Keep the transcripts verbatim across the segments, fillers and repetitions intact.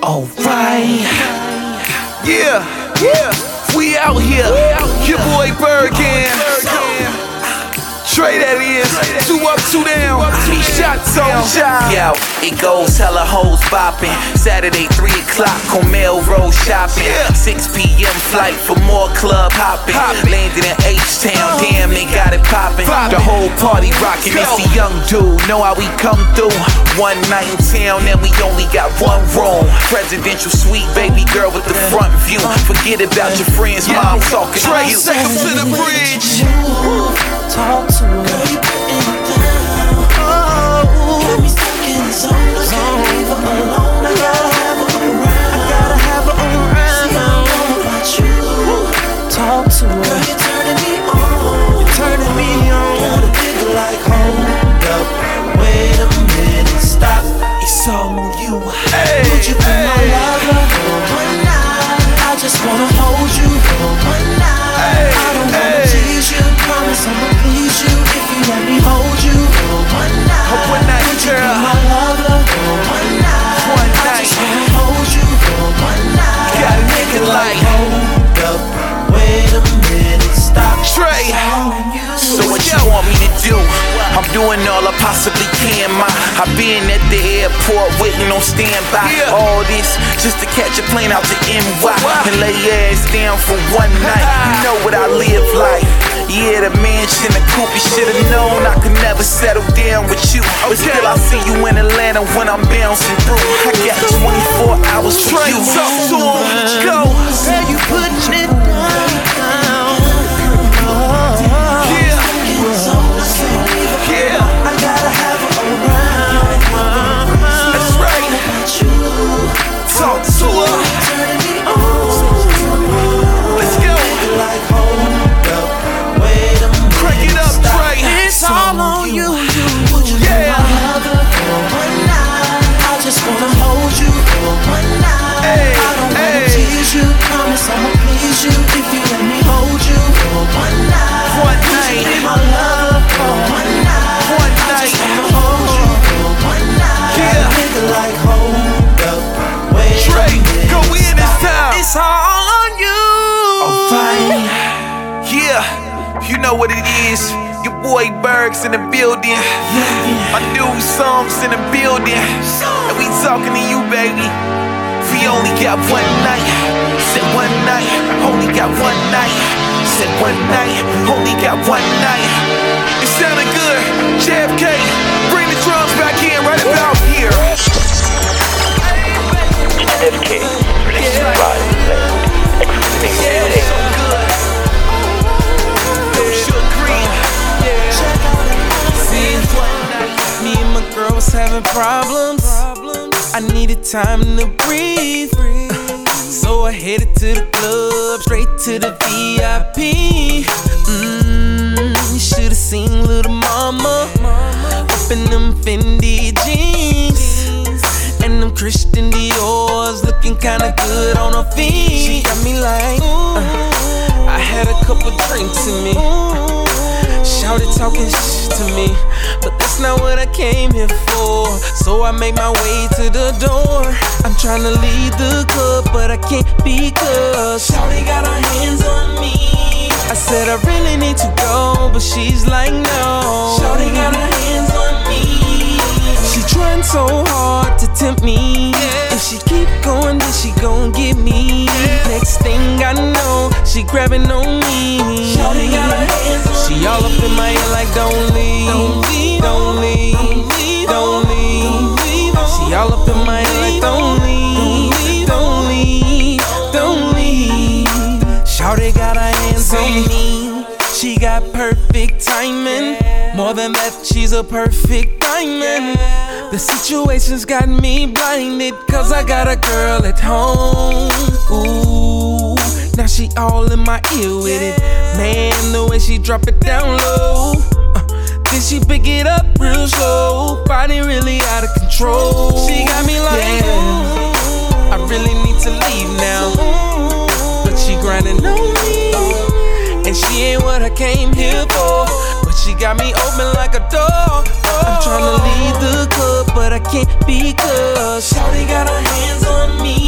Alright. Yeah, yeah. We out here. Your boy Bergen. Trey, that is. Two up, two down. He shot on shot. Yo, it goes hella hoes bopping. Saturday, three o'clock on Melrose shopping. six p.m. flight for more club hopping. Landed in H-Town, damn, they got it popping. The whole party rocking. It's the young dude. Know how we come through. One night in town, and we only got one room. Presidential suite, baby girl with the front view. Forget about your friends, mom talking to you. Sex to the bridge. Talk to her. Girl, you putting it down. Oh, got me stuck in the zone. I can't leave her alone. I gotta have her around. I gotta have her around. See, I know about you. Talk to her. Girl, you're turning me on. You're turning me on. Got a nigga like, hold up, wait a minute, stop. It's all on you. Hey, would you be hey. my lover for one night? I just wanna hold you for one night. Hey, I don't wanna hey. tease you. Promise I'ma please you if you let me hold you for one night. Oh, one night, would you girl. be my lover for one night? One I night. just wanna hold you for one night. Got a nigga like, hold up, wait a minute, stop. Trey. It's all on you. So what you want me to do? I'm doing all I possibly can, ma. I've been at the airport waiting on standby. Yeah. All this just to catch a plane out to N Y and lay your ass down for one night. You know what I live like. Yeah, the mansion, the coupe, you should've known I could never settle down with you. But still, I see you in Atlanta when I'm bouncing through. I got twenty-four hours for Trey, you. talk to him. Go. Girl, you putting it down. Yeah. Yeah. I gotta have her around. That's right. Talk to her. Turning me on. Let's go. Like, hold up, wait a minute. Crank it up, stop. Trey. It's all on you. Would you Yeah. be my lover for one night? I just wanna hold you for one night. Hey, I don't wanna hey. tease you. Promise I'ma please you if you let me hold you for one night. One Would night. you be my lover for one night? One I night. just wanna hold you for one night. Yeah. Got a nigga like, hold up, wait a Trey, minute, go in this stop. time. It's all on you. Alright. Yeah, you know what it is. Your boy Berg's in the building. My new songs in the building. And we talking to you, baby. We only got one night. Said one night, only got one night. Said one night, only got one night. It sounded good. J F K, bring the drums back in right about here. J F K, released by exclusive Me and my girl was having problems. I needed time to breathe. So I headed to the club, straight to the V I P. Mmm, you should've seen little mama up in them Fendi jeans and them Christian Dior's, looking kinda good on her feet. She got me like, uh, I had a couple drinks in me. Shouted talking shit to me, but that's not what I came here for. So I made my way to the door. I'm tryna leave the club, but I can't because Shawty got her hands on me. I said I really need to go, but she's like no. Shawty got her hands on me. She trying so hard to tempt me. If she keep going, then she gon' get me. Next thing I know, she grabbing on me. Shawty got her hands on me. She all up in my ear like don't leave, don't leave, don't leave, don't leave. She all up in my ear like don't leave, don't leave, don't leave. Shawty got her hands on me. She got perfect timing. More than that, she's a perfect diamond. The situation's got me blinded, cause I got a girl at home. Ooh, now she all in my ear with it. Man, the way she drop it down low, uh, then she pick it up real slow. Body really out of control. She got me like, yeah, I really need to leave now, but she grinding on me, and she ain't what I came here for. But she got me open like a door. I'm tryna leave the club, but I can't because Shawty got her hands on me.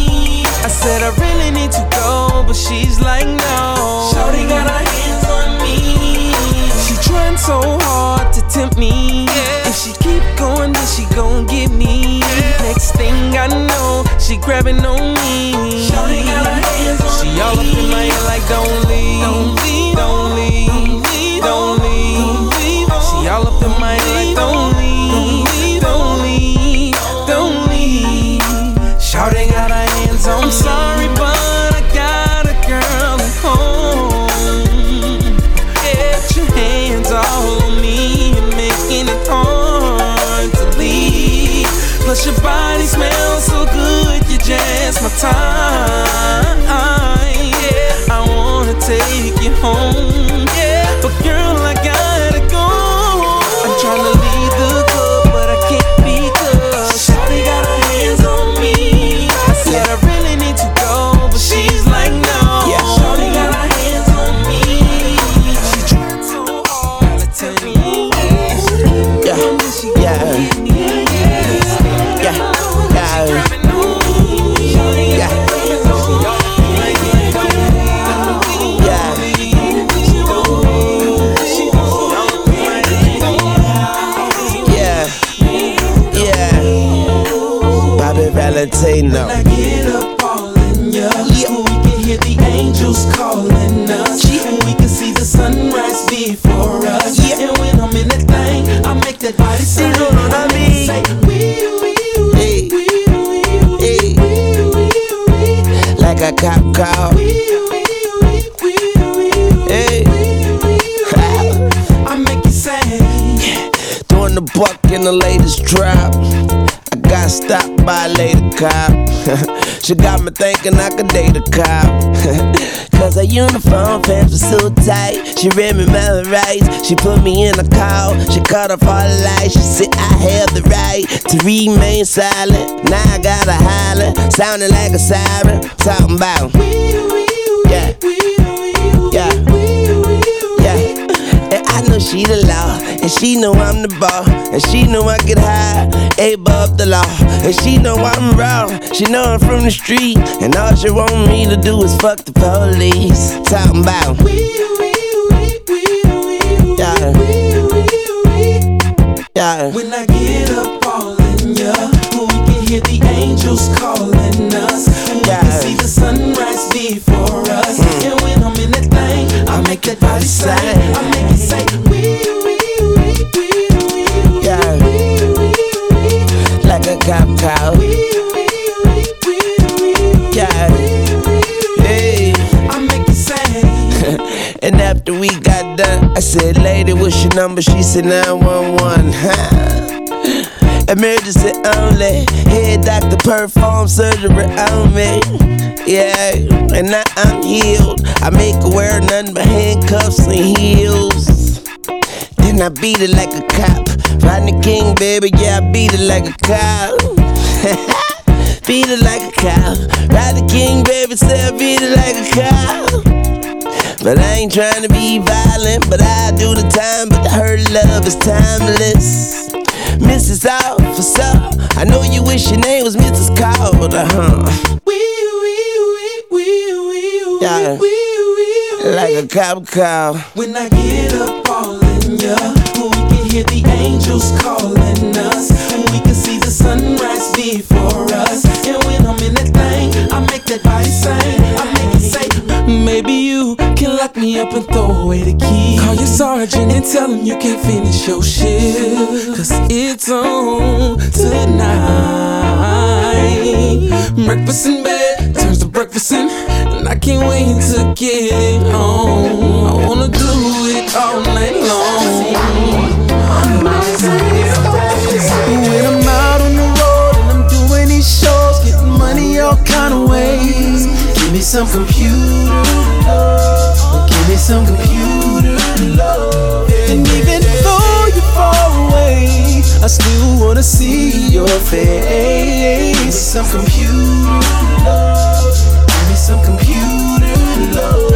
she's like, no. Shawty got her hands on me. She trying so hard to tempt me. Yeah. If she keep going, then she gon' get me. Yeah. Next thing I know, she grabbing on me. Shawty got her hands on she me. She all up in my ear like, don't leave, don't leave, don't leave, don't leave, don't leave. She all up in my ear like, don't leave, don't leave, don't leave. Shawty got her hands on me. I'm sorry, but I got a girl at home. Get your hands all on me and making it hard to leave. Plus your body smells so good, you just my time. Yeah, I wanna take you home. Yeah, but girl, I gotta go. I'm tryna leave the club, but I can't because Shawty got her hands on me. I said I really need to go, but she's like no. Yeah, Shawty got her hands on me. She tried so hard to tell me. Yeah, yeah, yeah, yeah. Valentino. When I get up all in ya, yeah. We can hear the angels calling us, yeah. And we can see the sunrise before us, yeah. And when I'm in that thing, I make that body say, you know what I mean? Say, wee, wee, hey. wee, wee, wee, hey. wee, wee, wee. Like a cop call. Wee, wee, wee, wee, wee, hey. wee, wee, wee. I make you say, yeah. Doing the buck in the latest drop. Got stopped by a lady cop. She got me thinking I could date a cop. Cause her uniform pants were so tight. She read me my rights. She put me in a call. She cut off all the lights. She said I have the right to remain silent. Now I gotta holler, sounding like a siren. Talking about yeah, yeah, yeah. And I know she the law, and she know I'm the ball, and she know I get high, above the law, and she know I'm raw. She know I'm from the street, and all she want me to do is fuck the police. Talking about yeah, yeah. when I get up all in ya, we can hear the angels calling us, and we yeah. can see the sunrise before us, mm. And when I'm in that thing, I make that body say, I make it say, wee, wee, wee, wee, wee, yeah. wee, wee, wee. Like a cop call. Yeah, hey. I make it say. And after we got done, I said, lady, what's your number? She said nine one one. Emergency only. Head doctor perform surgery on me. Yeah, and now I'm healed. I make her wear nothing but handcuffs and heels. Then I beat it like a cop. Rodney King, baby, yeah, I beat it like a cop. Beat it like a cop. Rodney King, baby, say I beat it like a cop. But I ain't trying to be violent, but I do the time. But her love is timeless. Missus Officer, I know you wish your name was Missus Calder, huh? Wee, wee, wee, wee, wee, yeah. wee, wee, like a cop call. When I get up all in ya, we can hear the angels calling us, and we can see the sunrise before us. And when I'm in that thing, I make that body sing. I make it say, maybe you can lock me up and throw away the key. Call your sergeant and tell him you can't finish your shift, cause it's on tonight. Breakfast in bed turns to breakfast in, and I can't wait to get it on. I wanna do it all night long. When I'm out on the road and I'm doing these shows, getting money all kind of ways. Give me some computer love. Give me some computer love. And even though you're far away, I still wanna see your face. Give me some computer love. Give me some computer love.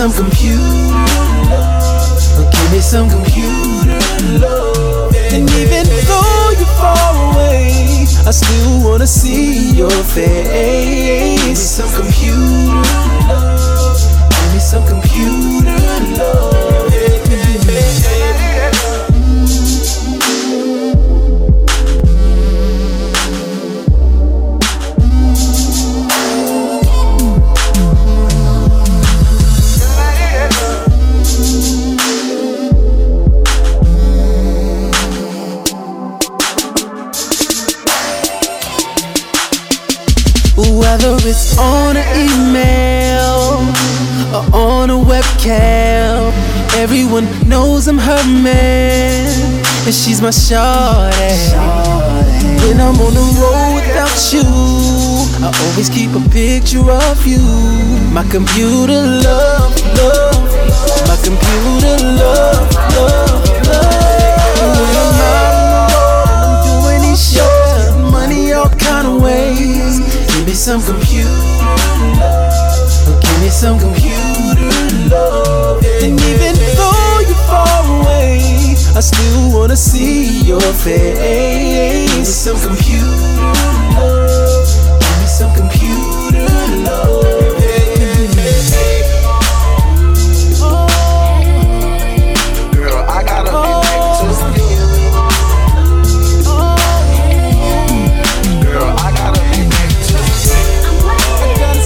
some computer love. Give me some computer love. And even though you're far away, I still wanna see your face. Give me some computer love. Give me some computer love. Whether it's on an email or on a webcam, everyone knows I'm her man, and she's my shawty. When I'm on the road without you, I always keep a picture of you. My computer love, love. My computer love, love, love. When I'm out on the road and I'm doing these shows, money all kind of ways. Give me some computer love. Give me some computer love. And even though you're far away, I still wanna see your face. Give me some computer love. Give me some computer love. Girl, I gotta be next to you. Girl, I gotta be next to you. I gotta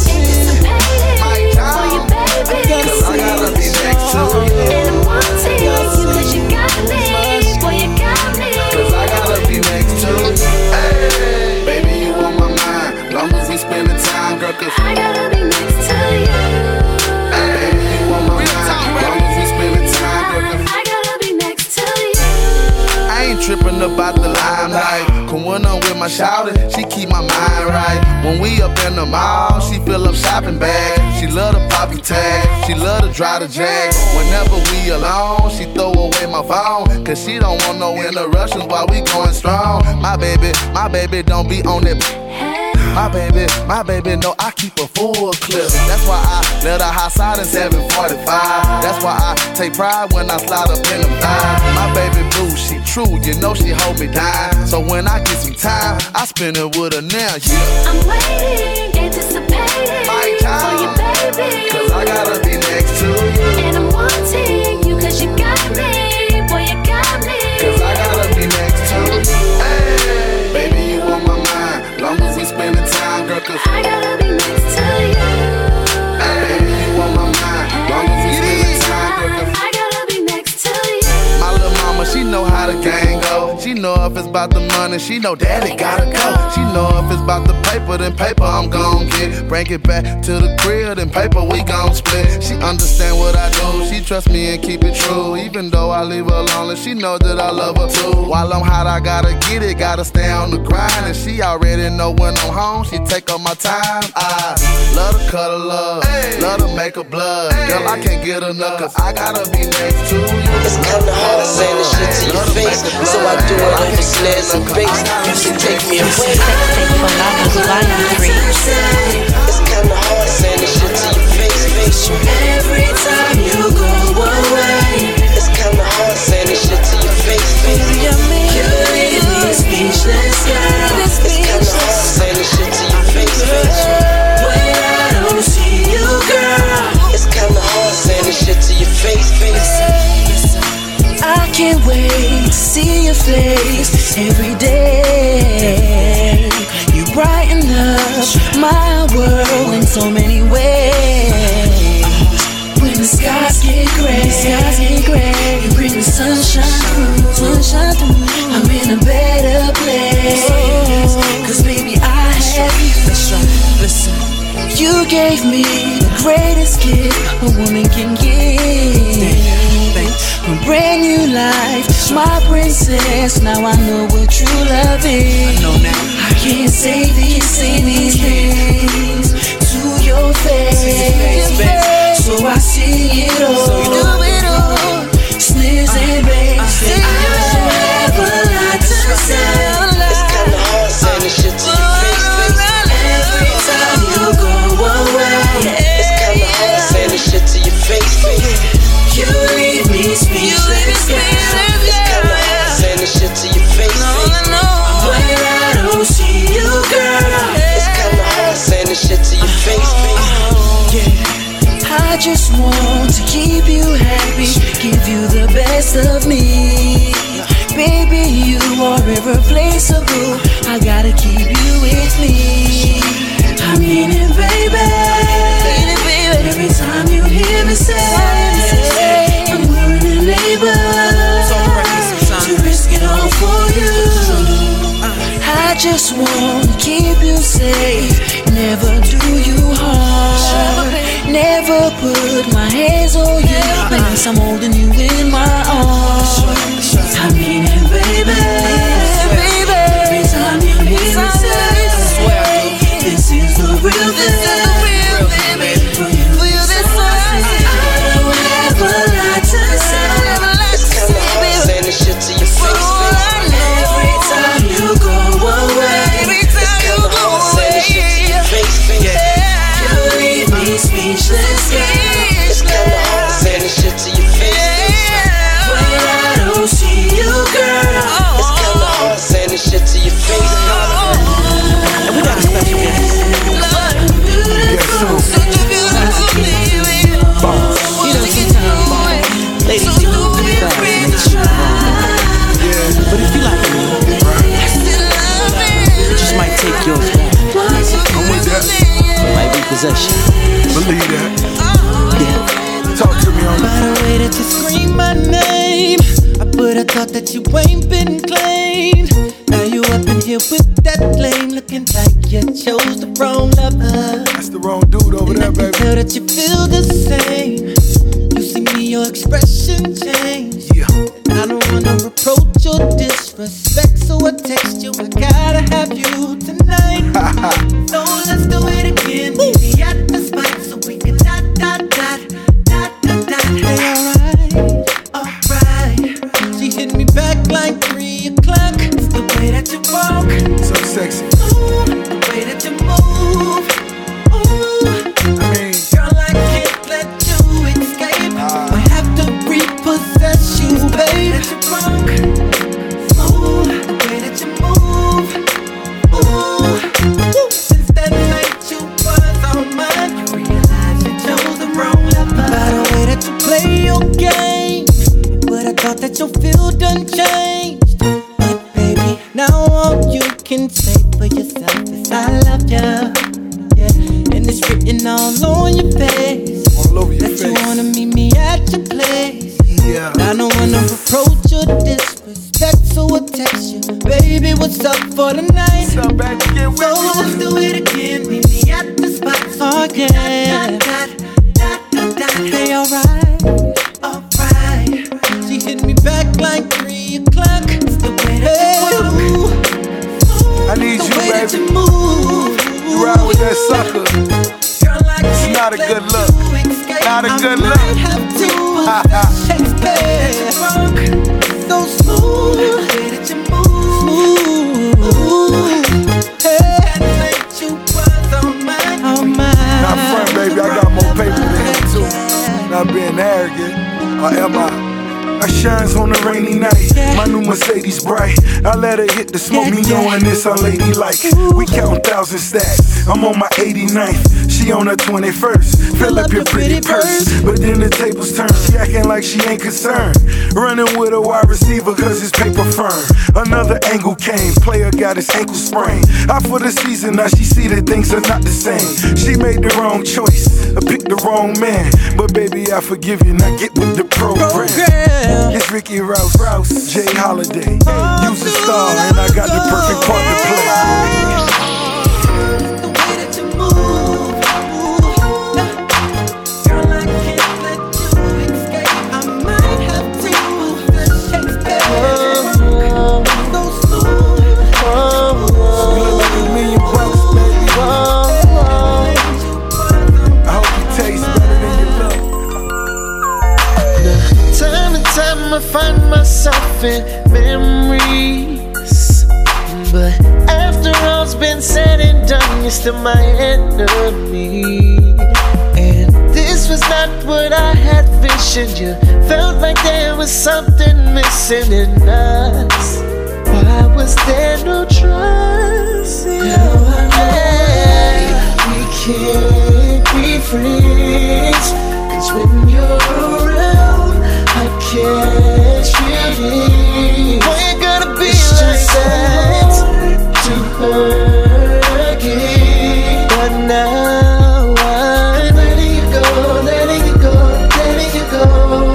be next to you. And I'm wanting you 'cause you got me, boy you got me. 'Cause I gotta be next to you. Hey, baby, you on my mind. Long as we spending time, girl, 'cause I gotta be next to you. hey, baby, you on my mind. Long as we spending time, girl, 'cause I gotta be next to you. I ain't tripping about the limelight. Cause when I'm with my shawty, she keep my mind right. When we up in the mall, she fill up shopping bags. She love the poppy tag, she love to drive the jag. Whenever we alone, she throw away my phone. Cause she don't want no interruptions while we going strong. My baby, my baby don't be on that. My baby, my baby know I keep a full clip. That's why I let her hot side in seven forty-five. That's why I take pride when I slide up in them thighs. My baby blue, she true, you know she hold me down. So when I get some time, I spend it with her now, yeah. I'm waiting, anticipating My time. for you, baby. 'Cause I gotta be next to you. And I'm wanting you 'cause you got me, boy you got me. 'Cause I gotta be next to you. Hey, baby, you on my mind. Long as we spending time, girl, 'cause I gotta be next to you. hey, baby, you on my mind. Long as we spending time, girl, 'cause I gotta be next to you. my little mama, she know how the game go. She know if it's about the money, she know daddy gotta go. She know if it's about the paper, then paper I'm gon' get. Bring it back to the crib, then paper we gon' split. She understand what I do, she trust me and keep it true. Even though I leave her lonely, she know that I love her too. While I'm hot, I gotta get it, gotta stay on the grind. And she already know when I'm home, she take up my time. I love to cuddle love, love to make her blood. Girl, I can't get enough, 'cause I gotta be next to you. It's kinda hard saying this shit to your face, so I do it over snares and bass. You should take me away. It's kinda hard saying this shit to your face, face. Every time you go away, It's kinda hard saying this shit to your face, face. you leave me speechless, girl. It's kinda hard saying this shit to your face, face. When I don't see you, girl, It's kinda hard saying this shit to your face, face. I can't wait to see your face every day. You brighten up my world in so many ways. When the skies get gray, skies get gray, you bring the sunshine through, sunshine through. I'm in a better place, 'cause baby I have you. Listen, you gave me the greatest gift a woman can give. A brand new life, my princess. Now I know what true love is. I know now. I can't say these, say these things to your face, so I see it all. So you do it all, sneers and babes. I never lie to say. It's kinda hard saying this shit to your face, face. Every time you go away, It's kinda hard saying this shit to your face, I just want to keep you happy, give you the best of me. Baby, you are irreplaceable. I gotta keep you with me. I mean it, baby. Mean it, baby. Every time you hear me say, I'm willing and able to risk it all for you. I just want to keep you safe, never do you harm, never put my hands on you unless I'm holding you in my arms. I mean it, baby, baby. Every time you hear me say, this is the real, this is the real, baby. For you, for you, this is I don't ever like to say, it's kinda hard saying this shit to your face, baby. Every time you go away, every time you go away, you leave me speechless. It's kinda hard saying this shit to your face, when I don't see you, girl. It's kinda hard saying this shit to your face. And we got a special guest. Such a beautiful baby. You know, sometimes ladies think you do fast and they shoot wrong. But if you like me, it just might take yours back. I'm with that. It might be possession. Believe that. Yeah. Talk to me on By the way that you scream my name, I but I thought that you ain't been claimed. Now you up in here with that flame, looking like you chose the wrong lover. That's the wrong dude over And there, I can baby. tell that you feel the same. You see me, your expression change. Yeah. I don't wanna reproach or disrespect, so I text you, I gotta have you tonight. So let's do it again, meet me at the spot so we can dot, dot, dot, dot, dot, dot. Hey, alright, alright. She hit me back like three o'clock. It's the way that you walk, So sexy. ooh, the way that you move, ooh. I mean, Girl, I can't let you escape. I have to repossess you, babe. That you drunk, smooth, the way that you move, ooh. Since that night you was on mine, you realize you chose the wrong lover. By the way that you play your game, but I thought that your feel done changed. But baby, now all you can say for yourself is I love ya. Yeah, and it's written all on your face all over your that you face. wanna meet me at your place. Yeah. I don't wanna reproach or disrespect, so I text you, baby, what's up for the night? What's up, baby? Get with So me. let's do it again, meet me at the spot. Oh yeah, dot, dot, dot, dot, dot. Hey, alright, alright. She hit me back like three o'clock. It's the way that you move, I need the you, way that baby. you move. You ride with that sucker. Girl, I It's can't not a let good look. you escape. Not a I good might look. have to Shakespeare. So smooth, the way that you move, smooth. Hey, that night you was on mine, on mine. Not front, baby. I got more paper than him, too. Not being arrogant. Or am I? I shines on a rainy night. My new Mercedes bright. I let her hit the smoke, me knowing this unladylike. We count thousand stacks. I'm on my eighty-ninth. She on her twenty-first. Fill up your pretty purse. But then the tables turn. She acting like she ain't concerned. Running with a wide receiver cause his paper firm. Another angle came. Player got his ankle sprained. Out for the season, now she see that things are not the same. She made the wrong choice. I picked the wrong man. But baby, I forgive you. Now get with the program. It's Ricky Rouse, Rouse, Jay Holiday. You's a star, and I got the perfect part to play. The way that you move, girl, I can't let you escape. I might have to Shakespeare. So smooth, You look like a million bucks, baby. I hope you taste better than you look. Time to time I find myself in memories, but after all's been said and done, you're still my enemy. And this was not what I had visioned. You felt like there was something missing in us. Why was there no trust? Now I know we can't be friends. when you're around, I can't really. Boy, you gotta be it's like just that to hurt again. But now I'm letting you go, letting you go, letting you go.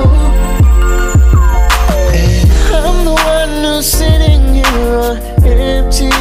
And I'm the one who's sitting here on empty.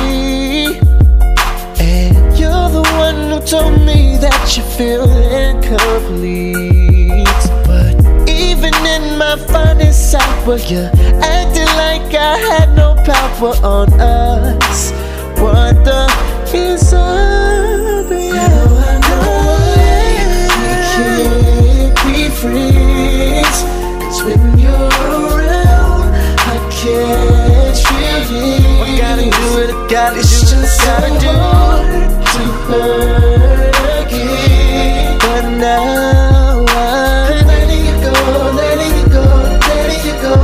And you're the one who told me that you feel incomplete. But even in my finest hour, you're acting like I had no power on us. What the is up? Yeah, I know we can't be friends. 'Cause when you're around, I can't really. I gotta do it, I gotta it's do it, I gotta do it to hurt again. But now I'm letting you go, letting you go, letting you go.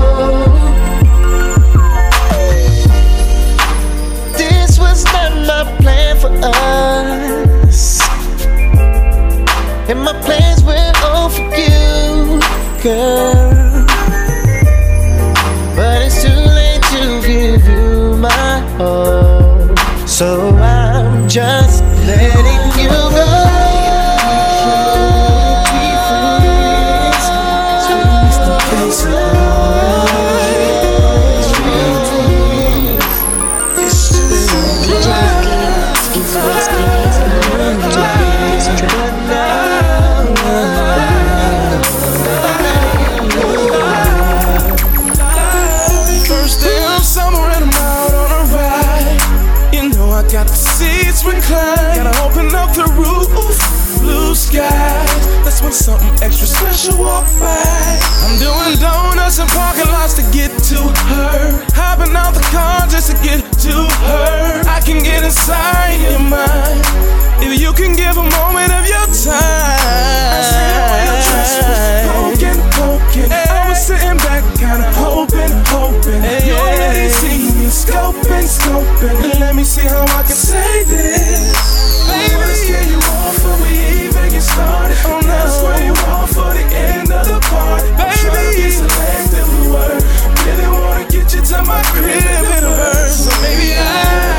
This was not my plan for us, and my plans were all for you, girl. But it's too late to give you my all, so I'm just letting you go. Recline. Gotta open up the roof, blue skies. That's when something extra special walk by. I'm doing donuts and parking lots to get to her. Hopping out the car just to get to her. I can get inside your mind if you can give a moment of your time. I see the way your dress was poking, poking. Hey. I was sitting back, kinda hoping, hoping. Hey. You already see me scoping, scoping. And let me see how I can say this. Baby, let's get you off before we even get started. Oh, no. That's where you want for the end of the party. Baby, I'm trying to be selective with words. Really wanna get you to my crib in the verse. So maybe I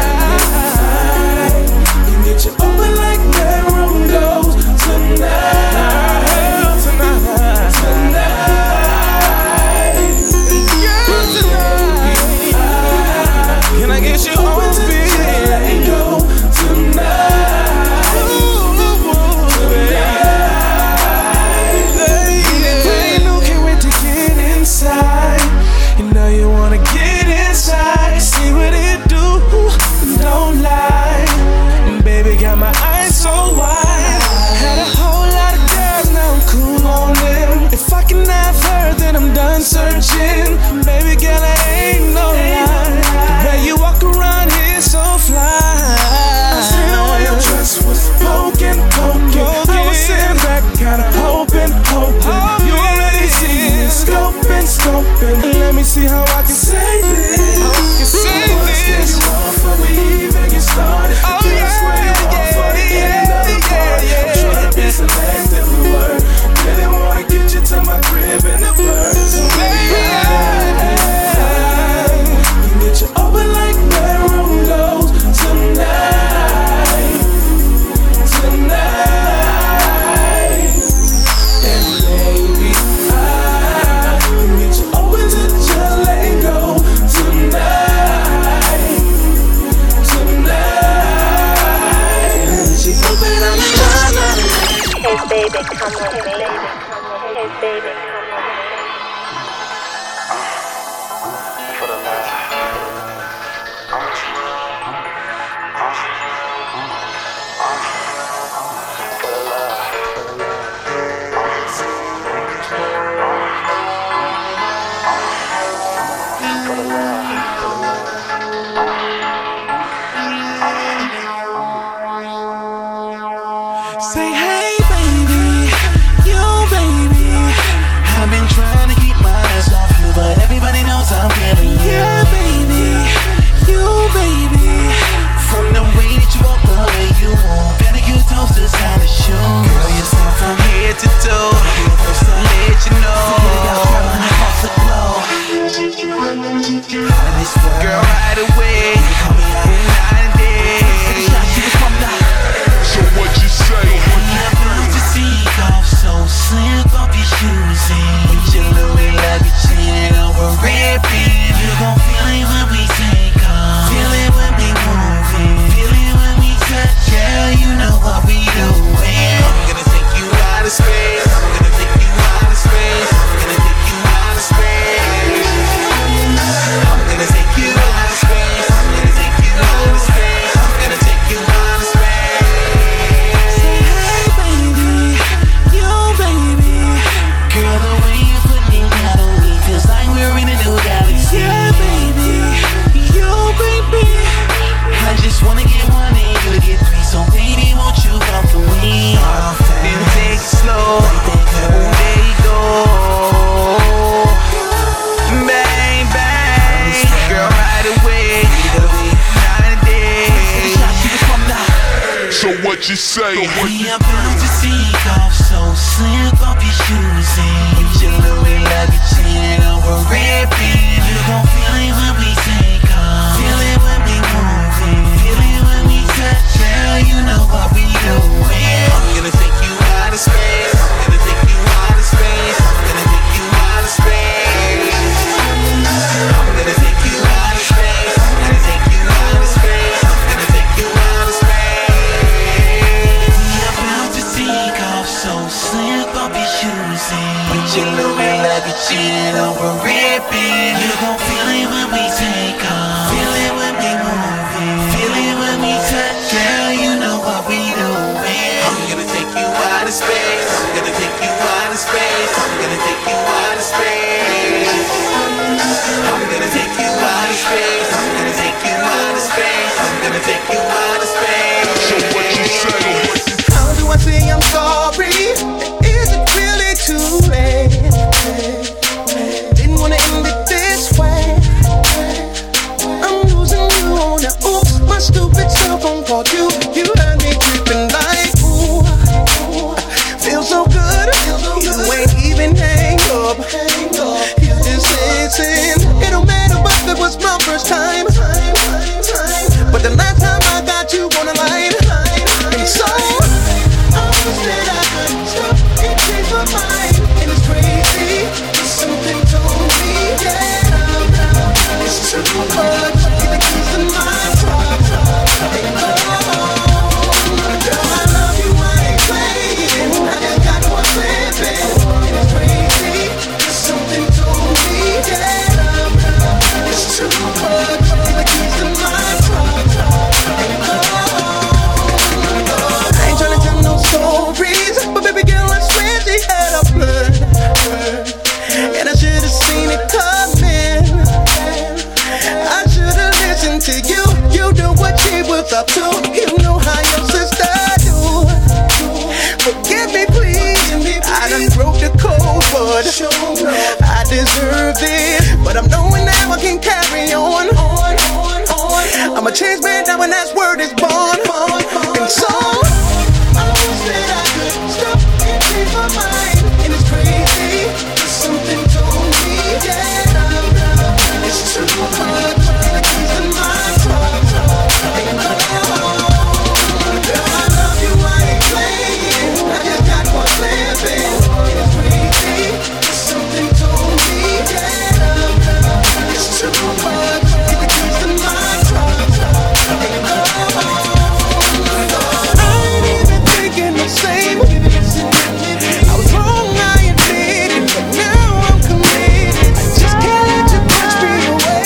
can get you open like bedroom doors tonight. Tonight, tonight. Girl, tonight. Can I get you on speed? Let me go tonight. Tonight. Ain't no can't wait to get inside. You know you wanna get inside. See what it do, don't lie. Baby got my eyes so wide. Had a whole lot of girls, now I'm cool on them. If I can have her, then I'm done searching. Baby girl, I ain't no lie. The way you walk around here so fly. I see the way your dress was poking, poking. I was sitting back, kinda hoping, hoping. You already see me scoping, scoping. Let me see how I can say this. I can say this. Before we even get started. Oh yeah, yeah, yeah, yeah, yeah. I'm trying to be selective with words. Really wanna get you to my crib in the birds. So maybe I can get you open like bedroom doors tonight, tonight. And baby, I can get you open to just letting go tonight, tonight. She's open on the line. Hey baby, come with me. Hey baby, come with me. For the love. For the love. For the love. Say hey baby, you baby. I've been trying to keep my eyes off you, but everybody knows I'm feeling you. Yeah baby, you baby. From the way that you walk, the way you move, better get toast, it's time to shoot. Girl, you're from head to toe. what you say. We are built to take off, so slip up your shoes and use your Louis like a chain over ripping. You gon' feel it when we take off, feel it when we move it, feel it when we touch. Girl, you know what we doing. I'm gonna take you out of space. I'm gonna take you out of space. I'm gonna take you out of space. I'm gonna take you out of space. I'm gonna take you out of space. I'm gonna take you out of space. We about to take off, so slip up your shoes and put your Louis like a chin over ripping. You gon' feel it when we take off, feel it when we move it, feel it when we touch. Girl, you know what we doing. I'm gonna take you out of space. I'm gonna take you out of space. I'm gonna take you out of space. I'm gonna take you out of space. I'm gonna take you out of space. I'm gonna take you out of space. So what you say? How do I say I'm sorry? Is it really too late? Didn't wanna end it this way. I'm losing you on the oops. My stupid cell phone called you. You had me tripping like ooh. Feel so good. You ain't even hang up. You just listen. It don't matter, but that was my first time. But the last time I got you on the line, and so I wish that I could stop and change my mind. And it's crazy, something told me that it's too much. Get the keys to my truck and go. Girl, I love you, I ain't playing. I just got one slipping. And it's crazy, something told me that it's too much. Get the keys to my truck and go. I ain't tryna tell no stories, but baby girl, I swear she had a plan. And I should've seen it coming. I should've listened to you. You knew what she was up to. You know how your sister do. Forgive me, please. I done broke the code, but I deserve it. But I'm knowing now I can carry on. I'm a change man now, and that's word is born. And so I wish that I could stop and change my mind. And it's crazy, something told me that it's too much. The keys in my truck and go. Girl, I love you, I ain't playing. I just got one slipping. And it's crazy, something told me that it's too much. Get the keys in my truck and go. I ain't even thinking the same. I was wrong, I admit it, but now I'm committed. Just can't let you push me away.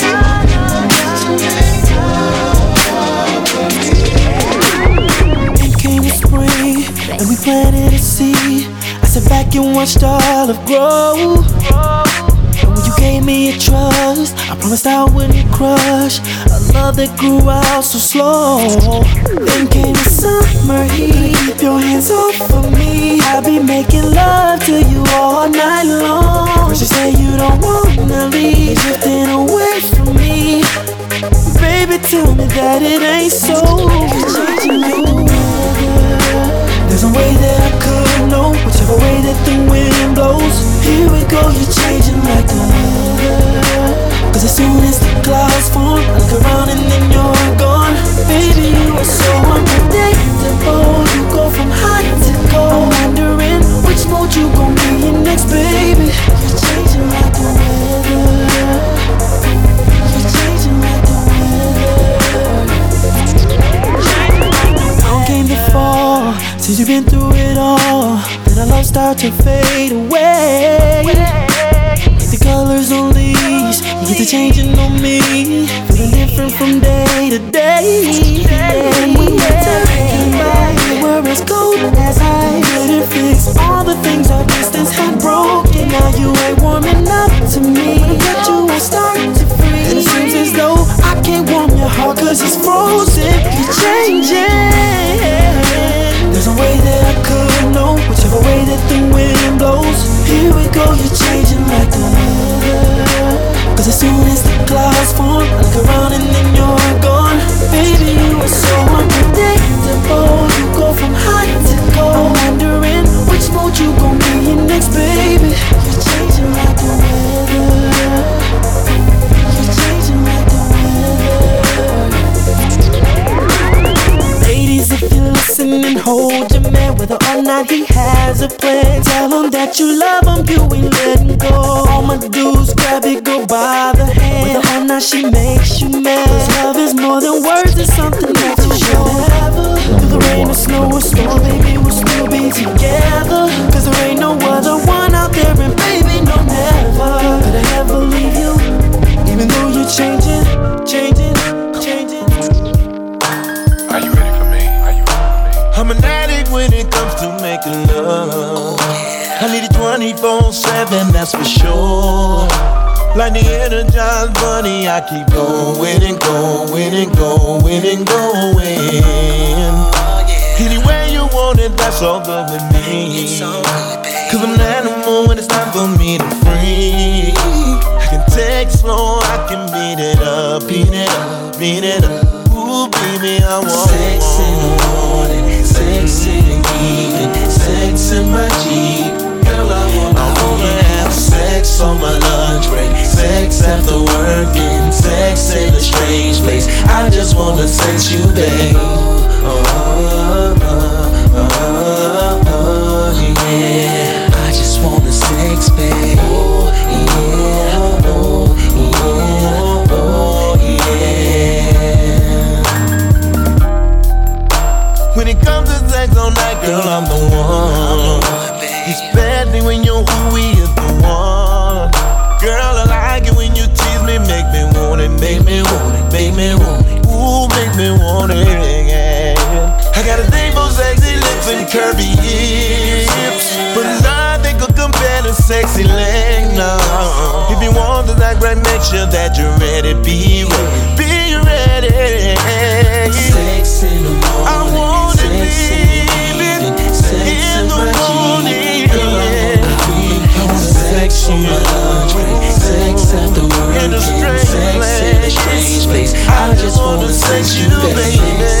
It came the spring, and we planted a seed. I sat back and watched all of grow. And when you gave me a trust, I promised I wouldn't crush a love that grew out so slow. Then came the summer heat. Keep your hands off of me. I'll be making love to you all night long. First you say you don't wanna leave, drifting away from me. Baby, tell me that it ain't so. You're changing like the weather. There's no way that I could know, whichever way that the wind blows. Here we go, you're changing like the weather. Cause as soon as the clouds form, I look around and then you're gone. Baby, you are so unpredictable. You go from hot to cold, wondering which mode you gon' be in next, baby. You're changing like the weather. You're changing like the weather. Long came the fall, since you've been through it all. Then our love start to fade away. The colors on leaves, you get to changing on me. Feeling different from day to day. When we were talking about you were as cold as ice. Couldn't fix all the things our distance had broken. Now you ain't warming up to me, yet you won't start to freeze. And it seems as though I can't warm your heart cause it's frozen. You're changing. There's no way that I could know, whichever way that the wind blows. Here we go, you're changing like the weather. Cause as soon as the clouds form, I look around and then you're gone. Baby, you are so unpredictable. You go from tonight he has a plan. Tell him that you love him, you ain't letting go. All my dudes grab it, go by the hand. With her now she makes you mad. Cause love is more than words, it's something that you show. Through the rain or snow or storm, baby, we'll still be together. Cause there ain't no other one out there, and baby, no never could I ever leave you. Even though you're changing, changing, changing. Are you ready for me? Are you ready for me? I'm an addict when it comes to making love. I need it twenty-four seven, that's for sure. Like the Energized Bunny, I keep going and going and going and going. Anywhere you want it, that's all good with me. Cause I'm an animal when it's time for me to free. I can take slow, I can beat it up, beat it up, beat it up. Ooh, baby, I want sex in the morning, sex in the evening, sex in my Jeep. Girl, I wanna, I wanna have sex on my lunch break, sex after working, sex in a strange place. I just wanna sex you, babe. Oh, oh, oh, oh, oh, yeah. I just wanna sex, babe. Oh, yeah, oh, yeah, oh, yeah. When it comes to sex all night, girl, I'm the one. Especially when you're who we is the one. Girl, I like it when you tease me, make me want it, make me want it, make me want it. Ooh, make me want it, yeah. I got a thing for sexy lips and curvy hips, but nothing could compare to sexy legs, no. If you want to act right, make sure that you're ready, be ready, be ready. Sex in the morning, I want it, baby, in the morning. Sex on my lunch break, sex after work, in a strange sex in a strange place. I just wanna sex you, baby.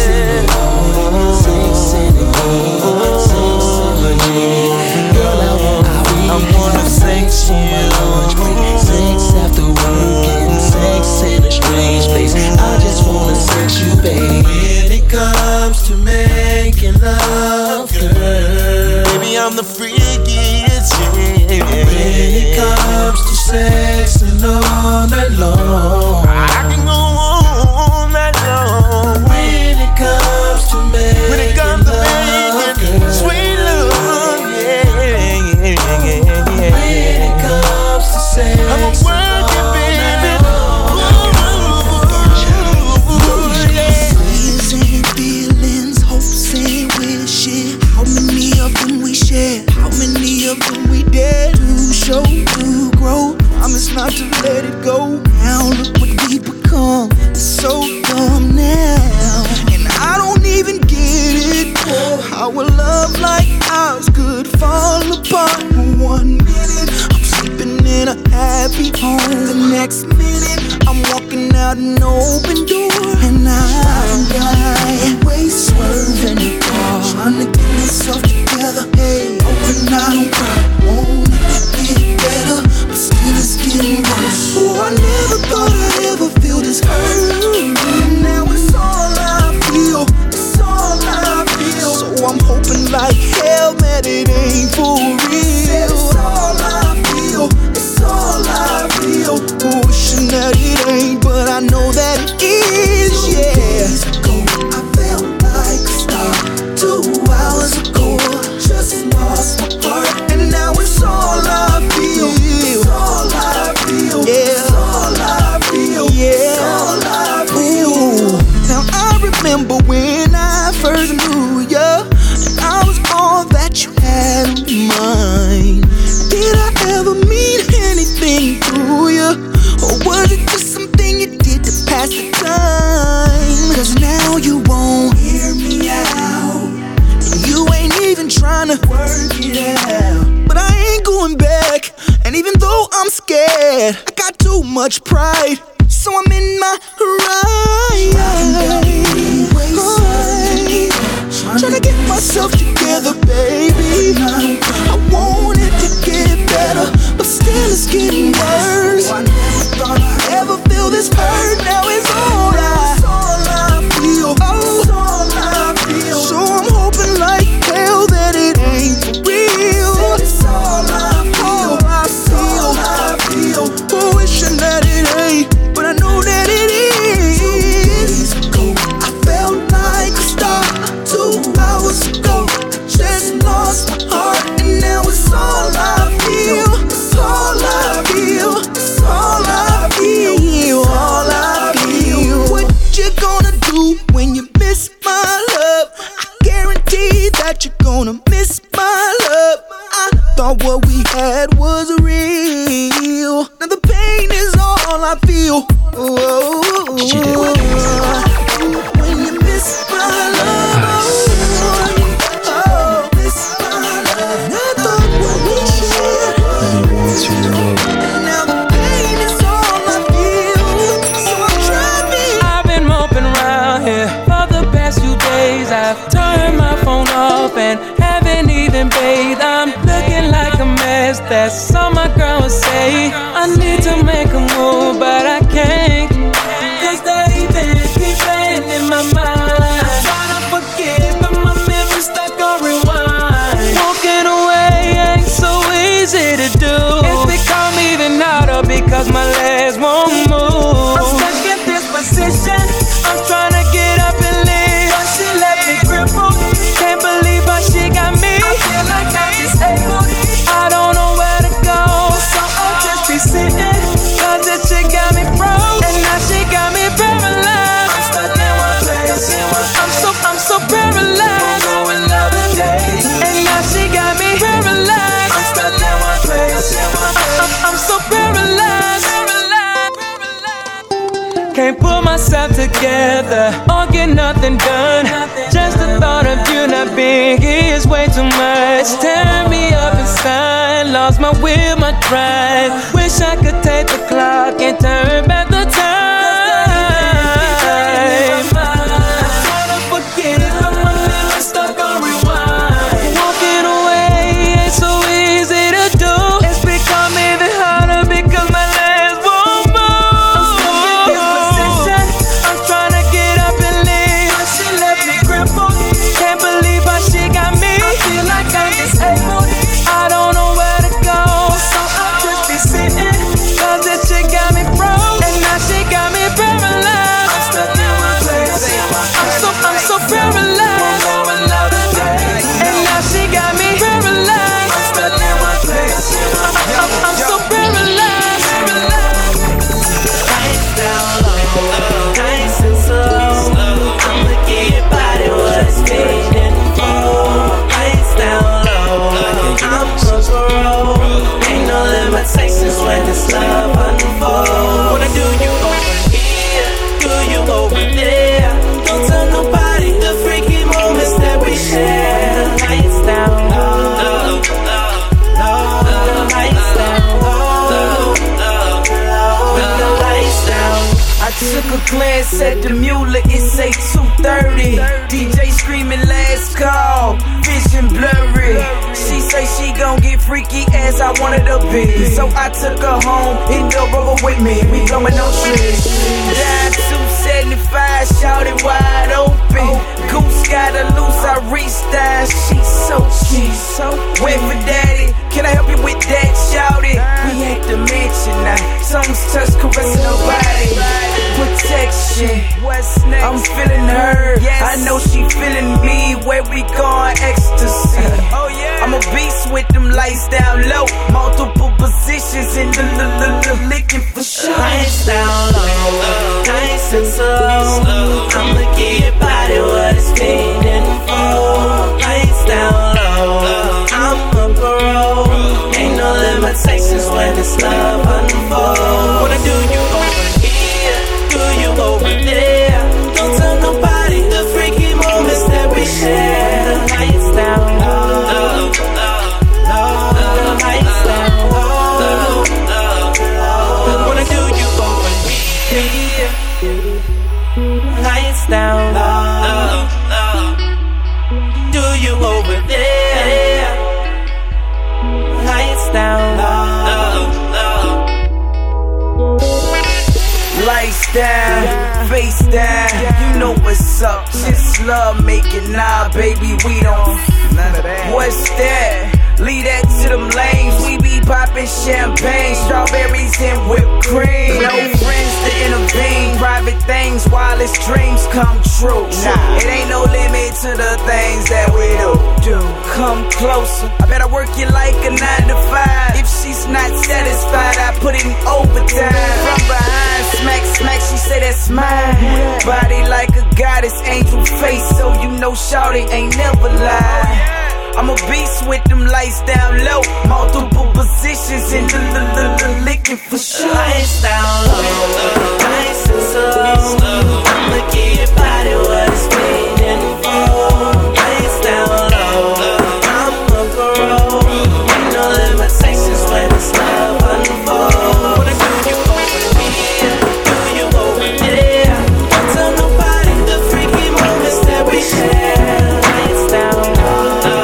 Sex in the morning, girl, I wanna, I wanna sex you. Sex after work, and sex in a strange place. I just wanna sex you, baby. When it comes to making love, girl, baby, I'm the freakiest, yeah. When it comes to sex and all night long, I can go all night long. When it comes to making when it comes to love, making girl, sweet love, yeah, yeah, yeah, yeah. When it comes to sex, I'm a working baby. Dreams and feelings, hopes and wishes. How many of them we share? How many of them we dare to show, to grow? Promise not to let it go. Now look what we become. It's so dumb now, and I don't even get it. Oh, how a love like ours could fall apart. One minute I'm sleeping in a happy home, the next minute I'm walking out an open door, and I'm lying, waist swerving the car, trying to get myself together. Hey, oh, and I don't cry, want it to get better, but still it's getting worse. Oh, I never thought I'd ever feel this hurt. Now it's all I feel, it's all I feel. So I'm hoping like hell that it ain't for real. It's all I feel, it's all I feel. Wishing that it ain't, but I know that it is, yeah. Days ago, I felt like a star. Two hours ago, just lost my heart, and now it's all I feel. It's all I feel. Yeah. It's all I feel. Yeah. It's all I feel. Ooh. Now I remember when I first knew ya, and I was all that you had on your mind. Did I ever mean anything to ya, or was it just something you did to pass the time? Cause now you won't hear me out, and you ain't even trying to work it out. But I ain't going back, and even though I'm scared, I got too much pride, so I'm in my right. Trying to get myself together, baby. I want it to get better, but still it's getting worse. I never thought I'd ever feel this hurt. Now it's all I, it's all I feel. Oh, it's all I feel. So I'm hoping like hell that it ain't do when you miss my love. I guarantee that you're gonna miss my love. I thought what we had was real. Now the pain is all I feel. Oh, when you miss my love. Oh, miss my love. I thought what we shared. Now the pain is all I feel. So I'm driving. I've been moping around here for the past few days. I've turned my phone off and haven't even bathed. I'm looking like a mess, that's all my girl would say. I need to make a move, but I can't, cause they keep playing in my mind. I'm trying to forget, but my memory's stuck on rewind. Walking away ain't so easy to do. It's become even harder because my legs won't move. I'm stuck in this position, I'm trying to get up and leave, but she let me cripple. Can't believe how she got me. I feel like I'm disabled, I don't know where to go, so I'll just be sitting, cause this shit got me broke, and now she got me paralyzed. I'm stuck in one place, I'm so, I'm so paralyzed, and now she got me paralyzed. I'm stuck in one place, I'm, I'm so paralyzed. Can't pull myself together or get nothing done. Just the thought of you not being here is way too much. Tearing me up inside, lost my will, my drive. Wish I could take the clock and turn back the time. I'm trying to forget it, but my memory's stuck on rewind. Walking away ain't so easy to do. It's become even harder because my legs won't move. I'm trying to get up and leave, but she left me crippled. Can't believe how she got me. I feel like I'm disabled, I don't know where to go, so I'll just be sitting, cause this shit got me broke, and now she got me paralyzed. I'm stuck in one place, I'm so, I'm so paralyzed, and now she got me paralyzed. I'm stuck in one place, I'm, I'm, I'm so paralyzed. Nice down low, nice and slow. I'ma give your body what it's needing for. Nice down low, I'm a pro. Ain't no limitations when it's love unfold. Wanna do you over here, do you over there? Don't tell nobody the freaky moments that we share. Nice down low, nice down low, with the lights down. I took a glance at the mule, it say two thirty. D J screaming last call, vision blurry. She say she gon' get freaky as I wanted to be. So I took her home, hit the rubber with me, we blowin' no tricks. Down two seventy-five, shouted wide open. Goose got her loose, I reached down, she's so cute. Wait for daddy, can I help you with that? Shout it, we at the mansion now, songs touch, caressing her body. Protection, what's next? I'm feeling her, yes. I know she feeling me. Where we going? Ecstasy. Oh yeah. I'm a beast with them lights down low, multiple positions in the l- l- licking for sure. Lights down low, nice and slow. I'ma give your body what it's needing for. Lights down low, I'm a pro. Ain't no limitations when it's love unfold. Wanna do you over here, do you over there? Don't tell nobody the freaky moments that we share. Lights down low, lights down low. Wanna do you over here, lights down low. Do you over there? Lights down low. Lights down, face down, you know what's up. Just love making, nah, baby, we don't. None of that. What's that? Leave that to them lanes. We be popping champagne, strawberries and whipped cream. No friends to intervene. Private things while his dreams come true. Nah, it ain't no limit to the things that we do. Do come closer. I better work you like a nine to five. If she's not satisfied, I put in overtime. From behind, smack, smack. She say that's mine. Body like a goddess, angel face, so you know shawty ain't never lied. I'm a beast with them lights down low, multiple positions in the l- l- l- licking for sure. Lights down low, nice and slow. I'ma give your body what it's waiting for. Lights down low, I'm a pro. Ain't no limitations when it's love unfolds. What do you over here? Do you over there? Don't tell nobody the freaky moments that we share. Lights down low.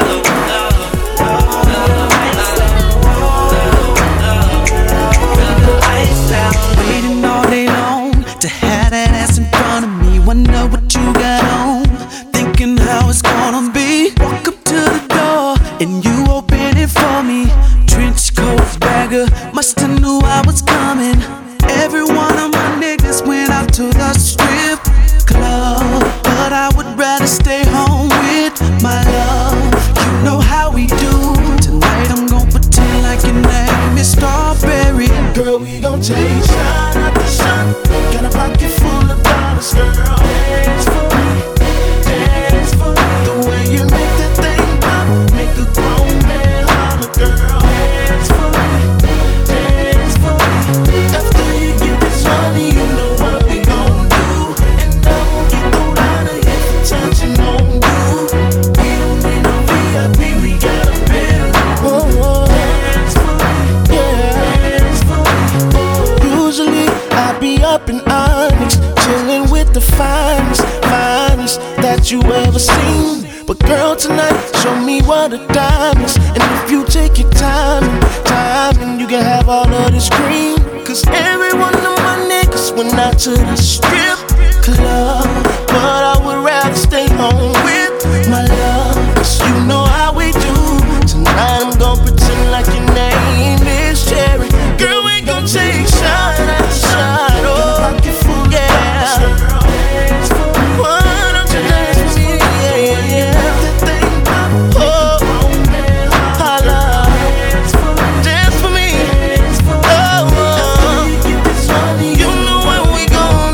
Waiting all day long to have that ass in front of me. Wonder what you got on, thinking how it's gonna be. Walk up to the door and you open it for me. Trench coat bagger, musta knew I was coming. Every one of my niggas went out to the strip club, but I would rather stay home with my love. You know how we do. Tonight I'm gon' pretend like your name is Strawberry. Girl, we gon' take shot after shot. Got a pocket full of dollars, girl. Dance for me, dance for me. The way you make that thing pop, make a grown man holler, girl. Dance for me, dance for me. After you get this money, you know what we gon' do. And I won't get thrown out of here for touching on you. We don't need no V I P, we got a bedroom. Dance for me, yeah. Dance for me. Usually I be up in Onyx, chillin' with the finest, finest that you ever seen. But girl, tonight, show me what a dime is. And if you take your time, time, and you can have all of this green. Cause every one of my niggas went out to the strip club, but I would rather stay home with my love. Cause you know how we do. Tonight I'm gon' pretend like your name is Cherry. Girl, we gon' take shot after shot. Oh, yeah. Why don't you dance with me? Yeah, yeah. That thing pop. Oh, holla. Dance for me. Oh, you know what we gon'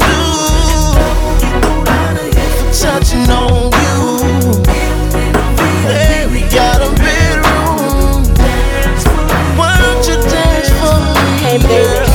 do. For touching on you. Hey, we got a bedroom. Why don't you dance for me? Hey, baby.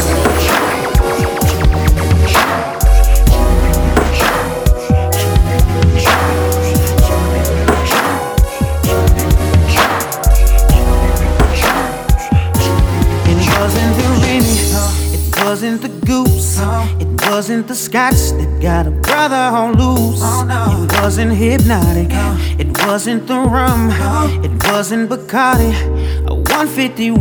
It wasn't the goose, it wasn't the scotch that got a brother on loose. It wasn't hypnotic, it wasn't the rum, it wasn't Bacardi, a one fifty-one.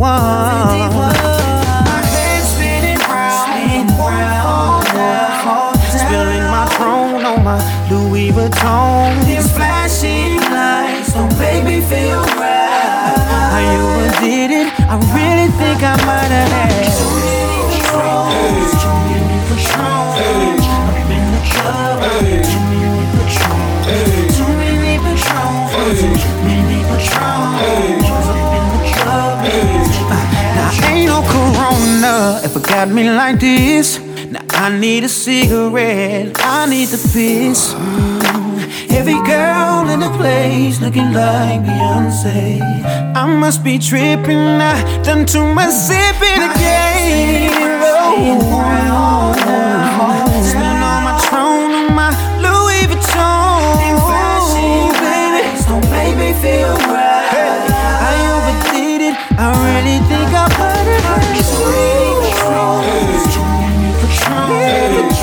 My head spinning round, round, spilling my throne on my Louis Vuitton. These flashing lights don't make me feel right. How you did it, I really think I might have had too many Patrons, too many Patrons, up in the club. Too many Patrons, too many Patrons, too many Patrons, up in the club. Now ain't no Corona if it got me like this. Now I need a cigarette, I need the piss. Every girl in the place looking like Beyonce. I must be tripping, I done too much sipping again. Oh, spilling on my throne, on my Louis Vuitton. Baby, don't make me feel right. I overdid it, I really think I might have had too many Patrons, too many Patrons,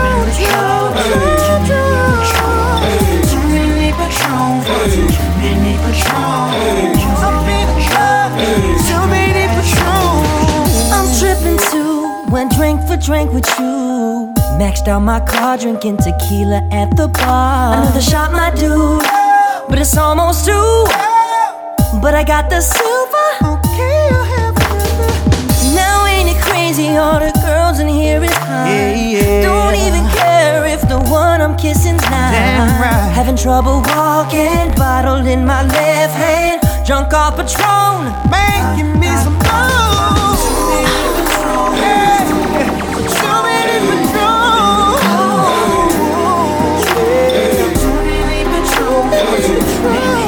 too many Patrons, too many Patrons, up in the club, too many Patrons. I'm tripping too when drink for drink with you. Maxed out my car, drinking tequila at the bar. Another shot, my dude, but it's almost two. but I got the silver. Okay, I have another. Now ain't it crazy? All the girls in here is high. Yeah, yeah. Don't even care if the one I'm kissing's not. Damn right. Having trouble walking, bottle in my left hand, drunk off Patron, making me some moves. Yeah, too many Patron. Too many Patron. Too many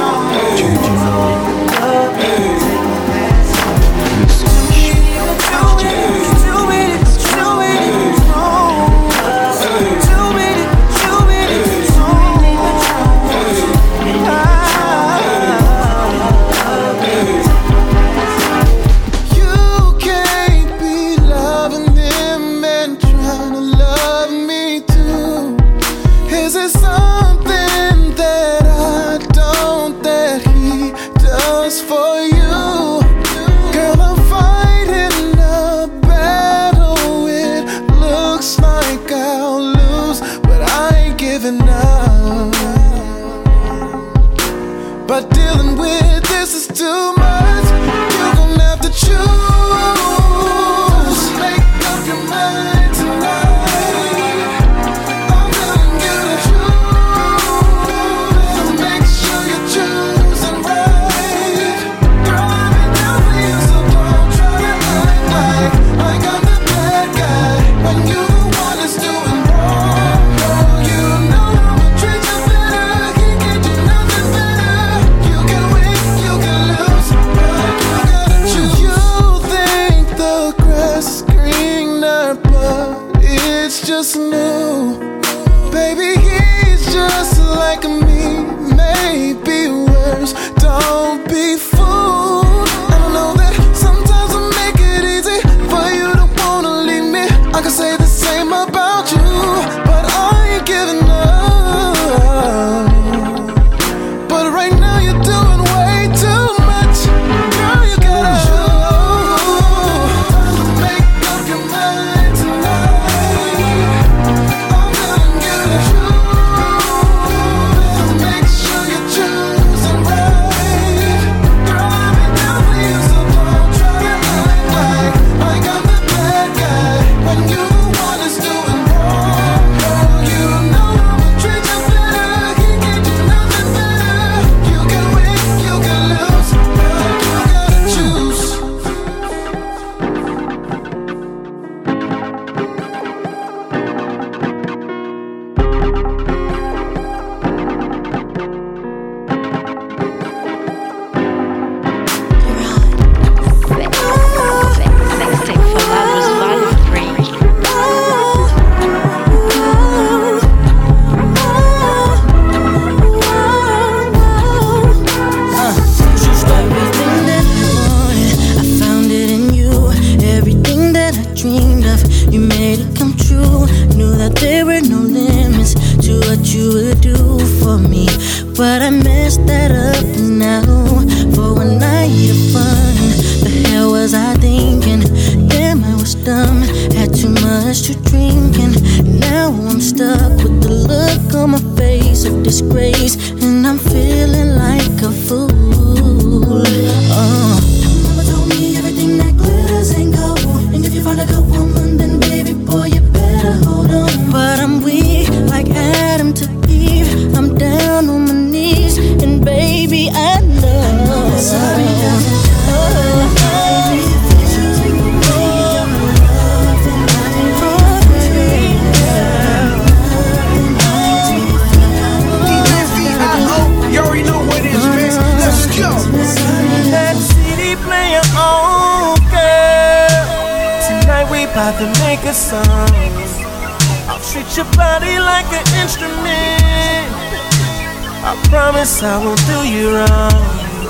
I won't do you wrong.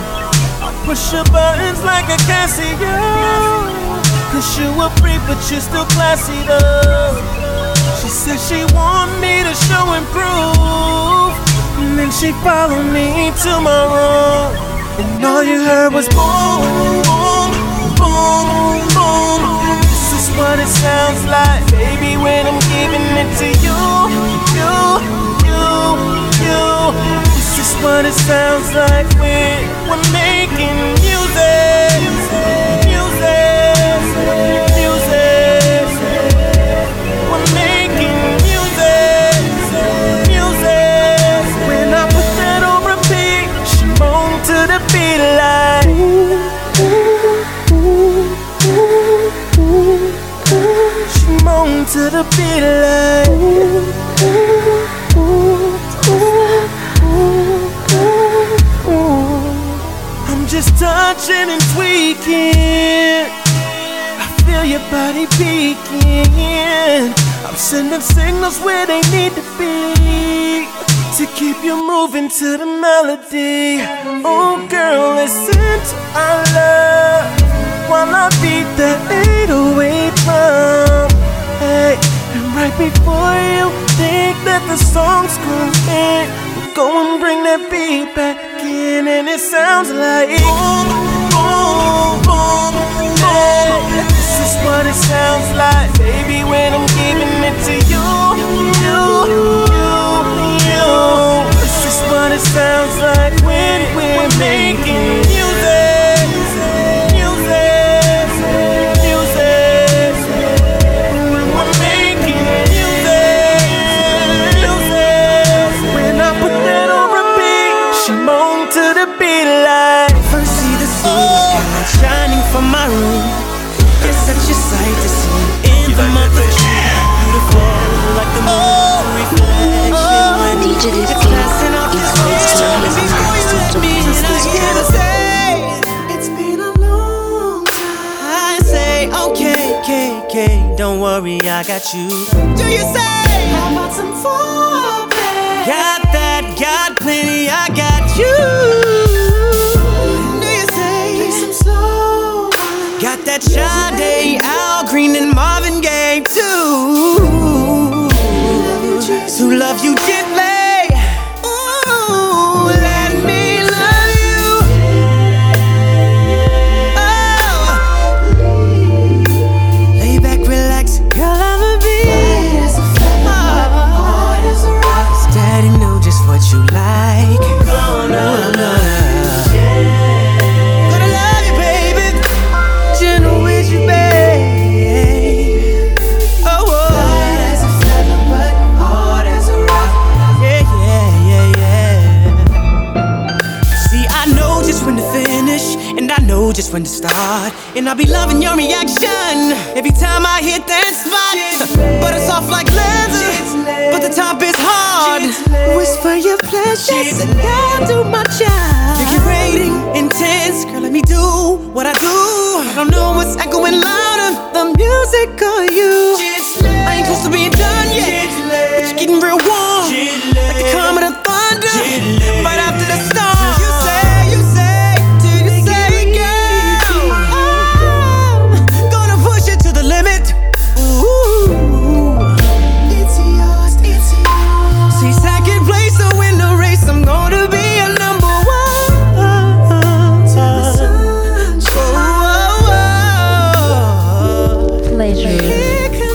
I'll push your buttons like a Casio. Cause you a freak but you still classy though. She said she want me to show and prove, and then she followed me to my room, and all you heard was boom, boom, boom, boom. This is what it sounds like, baby, when I'm giving it to you, you, you, you. This is what it sounds like when we're making music. Music, music. We're making music, music. When I put that on repeat, she moaned to the beat like ooh, ooh, ooh, ooh. She moaned to the beat like ooh, ooh, ooh, ooh, ooh, ooh. I'm just touching and tweaking. I feel your body peeking. I'm sending signals where they need to be to keep you moving to the melody. Oh girl, listen to our love while I beat that eight oh eight drum. Hey, and right before you think that the song's gonna end, we'll go and bring that beat back in, and it sounds like boom, boom, boom, boom. This is what it sounds like, baby, when I'm giving it to you, you, you, you. This is what it sounds like when we're making music, music, music. When we're making music, music. When I put that on repeat, she moaned to the beat like first see the sun shining from my room. It's such a sight to see in the month of June. Beautiful like the moon reflection when D J it's Ski passing off this way. Before you let me in, I hear the say it's been a long time. I say okay, okay, okay, don't worry, I got you. Do you say how about some foreplay? Got that, got plenty, I got you. Do you say play some slow? Got that Sade, Al Green, and Marvin Gaye too. To love you gently. Ooh, let me love you. Oh, lay back, relax, girl, I'ma be. Oh, Daddy know just what you like. Oh, no, no. Gonna love you, baby. Gentle with you, babe. Oh, oh. Light as a feather, but hard as a rock. Yeah, yeah, yeah, yeah. See, I know just when to finish, and I know just when to start, and I'll be loving your reaction every time I hit that spot. But it's soft like leather, but the top is hard. Whisper your pleasures, and I'll do my job. You get rating intense, girl, let me do what I do. I don't know what's echoing louder, the music or you. I ain't close to being done yet, but you're getting real warm, like the coming of thunder, right after the storm. You say, you say, do you say, girl? I'm gonna push it to the limit. Ooh, it's yours, it's yours. See, second place, so in the race, I'm gonna be a number one. Till the sun shines. Pleasure.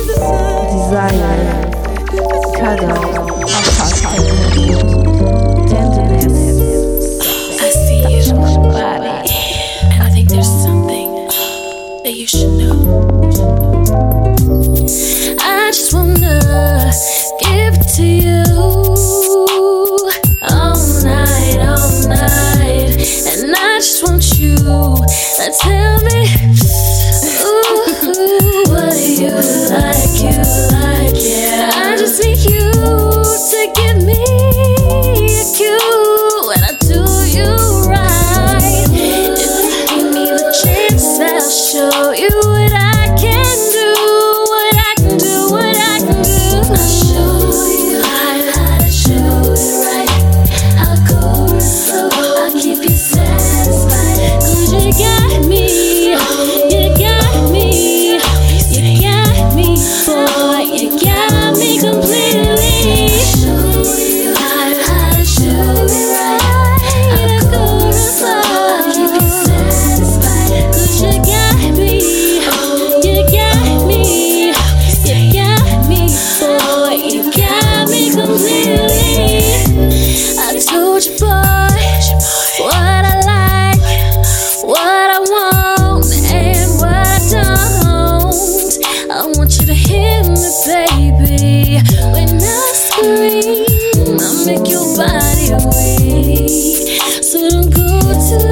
make your body weak. So don't go too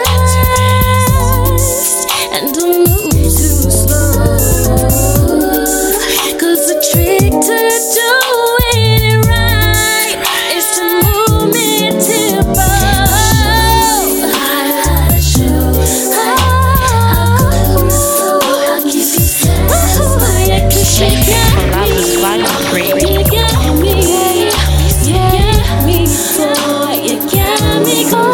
fast and don't move too slow. Cause the trick to doing it right is to move me tempo. I let you, I'll keep you safe. Yeah, 'cause you got me, you got me, you got me, boy, you got me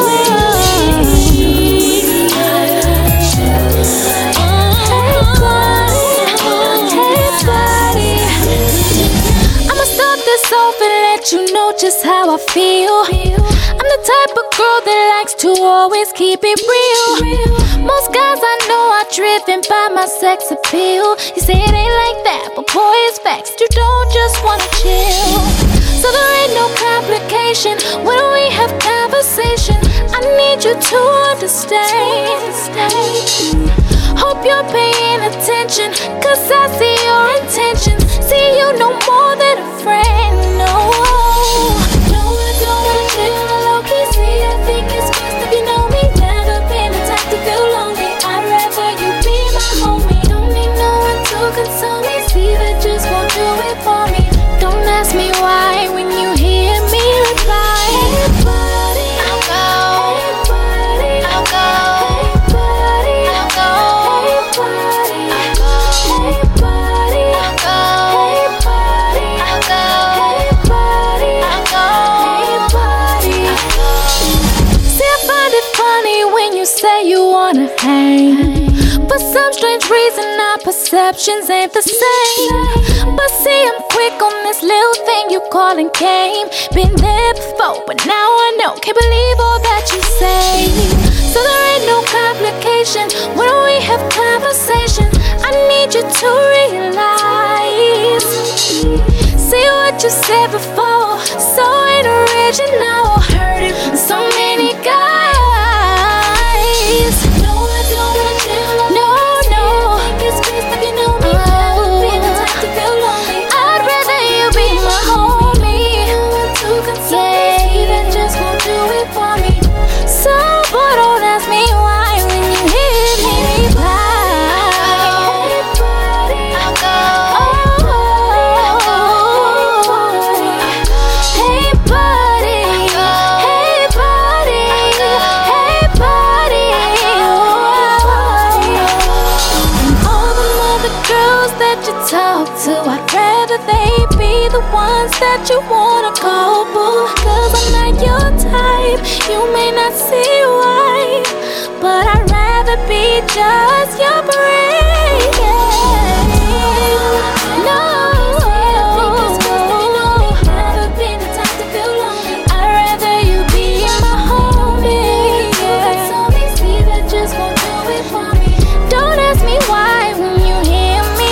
you know just how I feel. I'm the type of girl that likes to always keep it real. Most guys I know are driven by my sex appeal. You say it ain't like that, but boy, it's facts. You don't just wanna chill. So there ain't no complication when we have conversation. I need you to understand. Hope you're paying attention, cause I see your intentions. See you no more than a friend, no. No, I don't wanna chill on low key. See, I think it's best if you know me. Never been the type to feel lonely. I'd rather you be my homie. Don't need no one to console me. See, that just won't do it for me. Don't ask me why when you hear me reply. Hey buddy, I'll go. Hey buddy, I'll go. Hey buddy, I'll go. Hey buddy, I'll go. Hey buddy, I'll go. Hey buddy, I'll go. Hey buddy, I'll go. Hey buddy, I'll go. See, I find it funny when you say you wanna hang. For some strange reason, our perceptions ain't the same. But see, I'm quick on this little thing you callin' game. Been there before, but now I know. Can't believe all that you say. So there ain't no complication when we have conversation. I need you to realize. See what you said before, so ain't original. Heard it from so many guys. No, I don't wanna chill on. No, no. It's best if you know me. Never been the type to feel lonely. I'd rather you be my homie. No one to console. See, that just won't do it for me. So boy, don't ask me why when you hear me reply. Hey buddy, I'll go. Hey buddy, hey buddy, hey buddy. And all the other girls that you talk to, I'd rather they be the ones that you wanna call boo. Cause I'm not your type, you may not see why, but I'd rather be just your brain. No, never been the type to feel lonely. I'd rather you be my homie. See, that just won't do it for me. Don't ask me why when you hear me.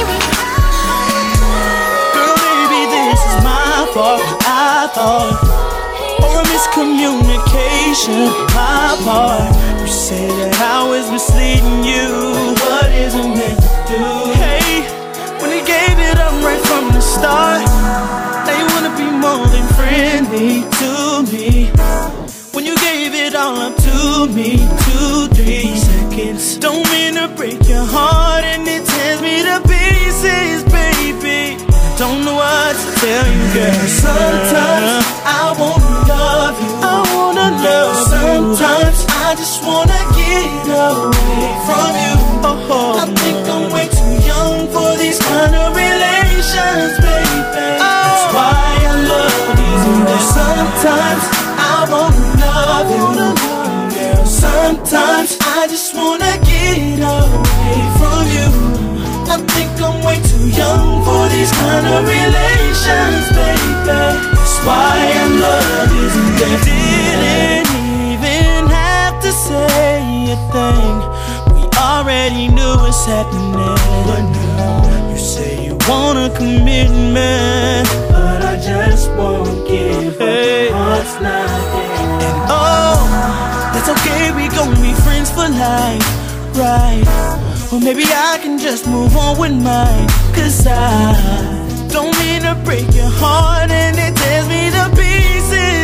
Girl, baby, this is my fault. I thought, or a miscommunication, my part. You say that I was misleading you. What isn't meant to do? Hey, when they gave it up right from the start, they wanna be more than friendly to me. When you gave it all up to me, two, three seconds. Don't mean to break your heart, and it tears me to pieces, baby. Don't know what to tell you, girl. Sometimes I wanna love you. I wanna love you. Sometimes I just wanna get away from you. Oh, I think I'm way too young for these kind of relations, baby. That's why I love these girls. Sometimes I wanna love you, girl. Sometimes I just wanna get away from you. I think I'm way too young for these kind of relations, baby. That's why I love these girls. Didn't even have to say a thing. We already knew what's happening. But now you say you want a commitment, but I just won't give up. Hey. Heart's not there. And oh, that's okay. We gon' be friends for life, right? Or maybe I can just move on with mine. Cause I don't mean to break your heart, and it tears me to pieces.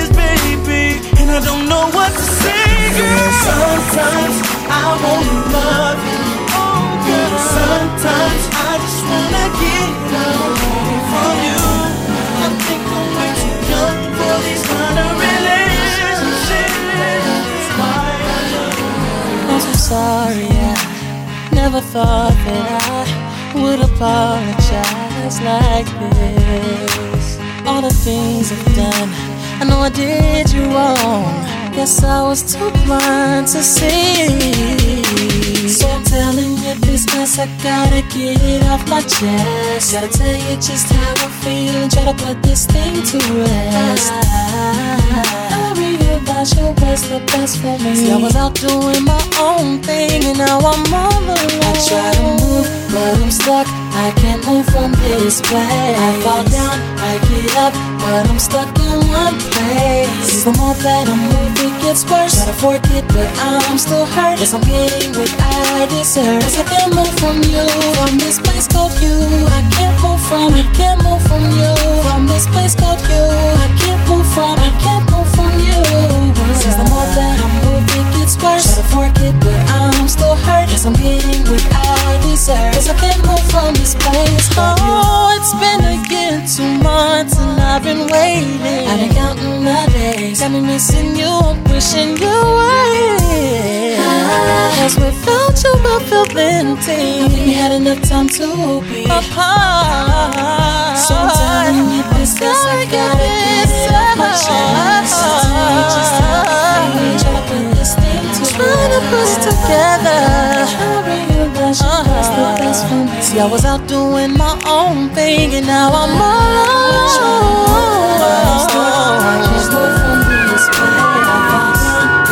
Sometimes I wanna love you. Sometimes I just wanna get away from you. I think I'm way too young for these kind of relationships. Why I love you. I'm so sorry, I never thought that I would apologize like this. All the things I've done, I know I did you wrong. Guess I was too blind to see. So I'm telling you this mess, I gotta get it off my chest. Gotta tell you just how I feel and try to put this thing to rest. I realized you was the best for me. See, I was out doing my own thing and now I'm all alone. I try to move, but I'm stuck. I can't move from this place. I fall down, I get up, but I'm stuck in one place. The more that I move, it gets worse. Try to forget, but I'm still hurt. Yes, I'm getting what I deserve. Cause I can't move from you, from this place called you. I can't move from, I can't move from you. From this place called you. I can't move from, I can't move from you. Since the more that I move, it gets worse. Try to forget, but I'm still hurt. Yes, I'm getting what I deserve. Cause I can't move from this place called you. Oh, it's been a year and two months and I've been waiting. I've been counting my days. Got me missing you, I'm wishing you were here. Cause without you I feel empty. I think we had enough time to be apart. So I'm telling you this, cause I gotta get it off my chest. Just how I feel, try to put this thing together. Trying to put it together. I realize you was the best for me. See, I was out doing my own thing and now I'm all alone. I can't move from this place.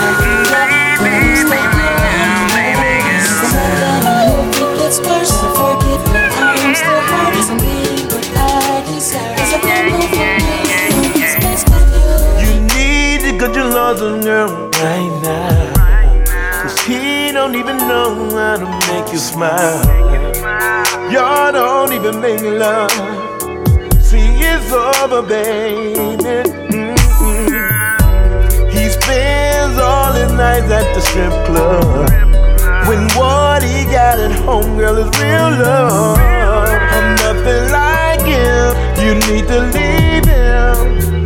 It's worse to forget, but I'm still hurt. Cause I'm getting what I deserve. Cause I can't move from this place with you. You need to get your love on girl right now. Cause he don't even know how to make you smile. Y'all don't even make love. See, it's over, baby. Mm-mm. He spends all his nights at the strip club. When what he got at home, girl, is real love. I'm nothing like him. You need to leave him,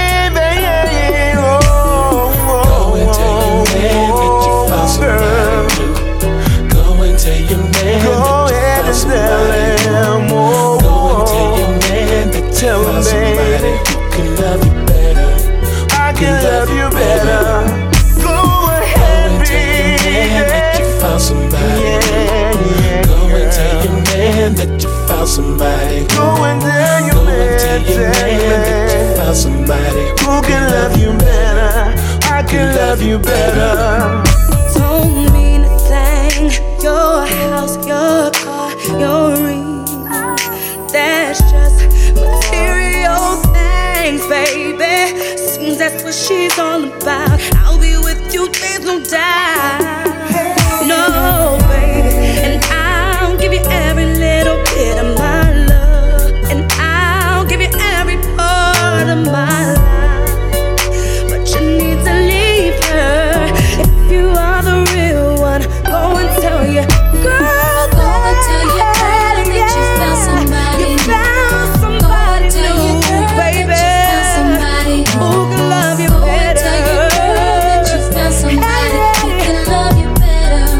baby. Oh, oh, go and tell your man that you found somebody new. Go and tell your man go that you found somebody new. Oh, go and tell your man that you found somebody who can love you better. I can love you better. Go ahead, baby. Found somebody. Yeah, yeah, go girl. and tell your man that you found somebody. Go and tell your go man, and tell your man that you found somebody who can love you better. I can love you better. Don't mean a thing. Your house, your car, your ring. That's just material things, baby. Seems that's what she's all about. I'll be with you, there's no doubt. No, baby, and I'll give you every little bit of my love, and I'll give you every part of my life. But you need to leave her if you are the real one. Go and tell your girl, go and tell your girl that you found somebody. You found somebody new, baby, who can love you better. Tell your girl that you found somebody who can love you better.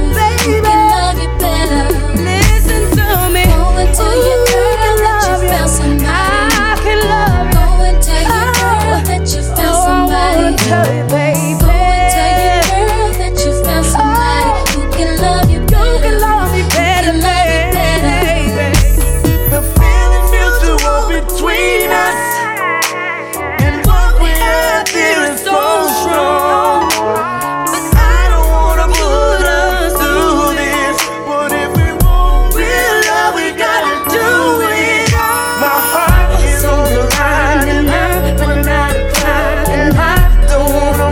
Tell you, baby. Go and tell your girl that you found somebody who can love you better. Who can love you better, baby. The feeling mutual between us, and what we have there is so strong. But I don't wanna put us through this. But if we want real love, we gotta do it. My heart is on the line, and I'm running out of time, and I don't wanna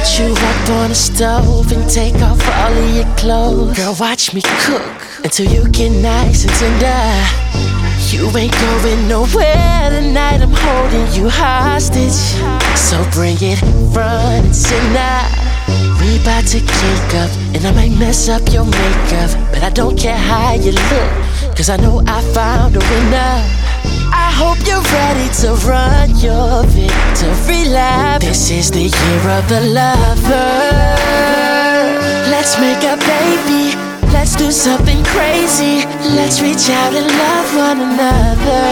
Put you up on the stove and take off all of your clothes. Girl, watch me cook until you get nice and tender. You ain't going nowhere tonight, I'm holding you hostage. So bring it front and center. We bout to kick up, and I might mess up your makeup, but I don't care how you look, cause I know I found a winner. I hope you're ready to run your victory lap. This is the year of the lover. Let's make a baby, let's do something crazy. Let's reach out and love one another.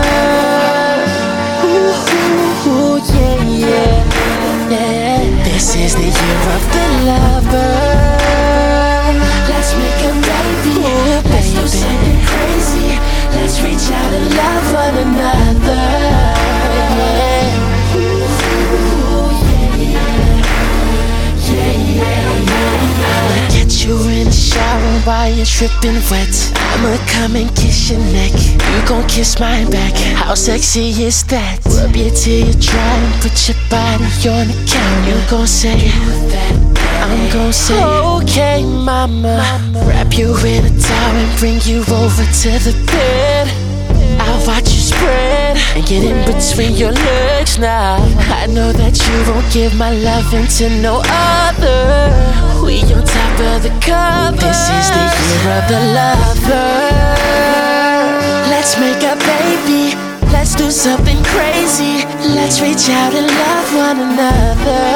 Ooh, ooh, yeah, yeah, yeah. This is the year of the lover. Let's make a baby, ooh, let's do something crazy. Let's reach out and love one another. Yeah. Ooh, yeah, yeah, yeah, yeah, yeah. I'ma get you in the shower while you're dripping wet. I'ma come and kiss your neck. You gon' kiss mine back. How sexy is that? Rub you till you dry and put your body on the counter. You gon' say that. I'm gon' say, okay, mama. Wrap you in a towel and bring you over to the bed. I'll watch you spread and get in between your legs now. I know that you won't give my loving to no other. We on top of the cover. This is the year of the lover. Let's make a baby, let's do something crazy. Let's reach out and love one another.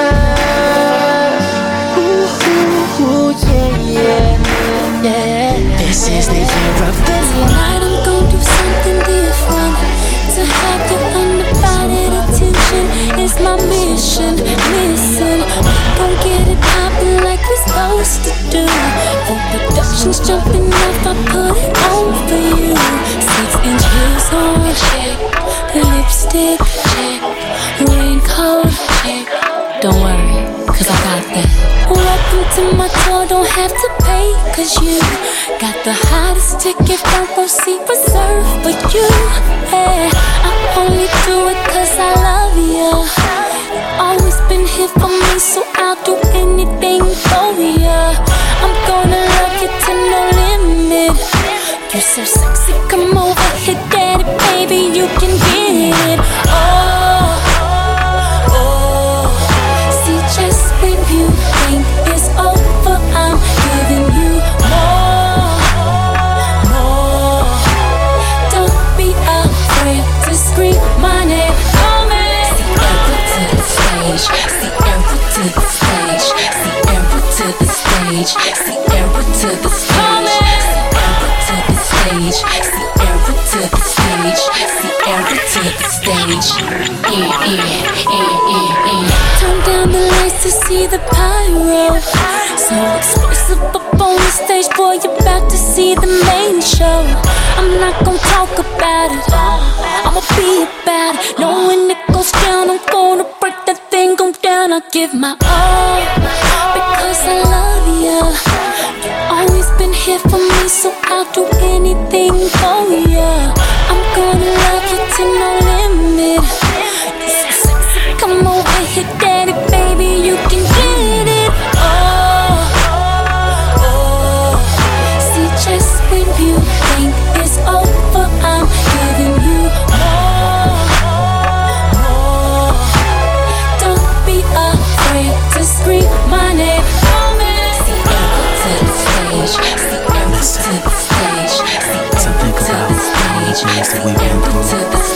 Ooh, yeah, yeah, yeah. This is the year of the tonight I'm gonna do something different. To have your undivided attention is my mission. Listen, don't get it poppin' like we're supposed to do. For production's jumping off, I put it on for you. Six inch heels on, check. Lipstick, check. Raincoat, check. Don't worry, cause I got that. Welcome to my tour, don't have to pay, cause you got the hottest ticket, front row seat reserved for you. Yeah, I only do it cause I love you. You've always been here for me, so I'll do anything for you. I'm gonna love you to no limit. You're so sexy, come over here, daddy, baby, you can get it. Oh, just when you think it's over, I'm giving you more, more. Don't be afraid to scream my name. See Sierra to the stage, Sierra to the stage, Sierra to the stage, Sierra to the stage, Sierra to the stage, Sierra to the stage. Yeah, yeah, yeah, yeah, yeah. Turn down the lights to see the pyro. So explosive up on the stage, boy, you're about to see the main show. I'm not gonna talk about it, I'ma be about it. Know when it goes down, I'm gonna break that thing, go down. I'll give my all, because I love you. You've always been here for me, so I'll do anything for you. I'm gonna love you to no limit. You're so sexy, come over here, daddy, baby, you can get it. Oh, oh. See, just when you think it's over, I'm giving you more, more. Don't be afraid to scream my name. Sierra to the stage, Sierra to the stage, Sierra to the stage, Sierra to the stage.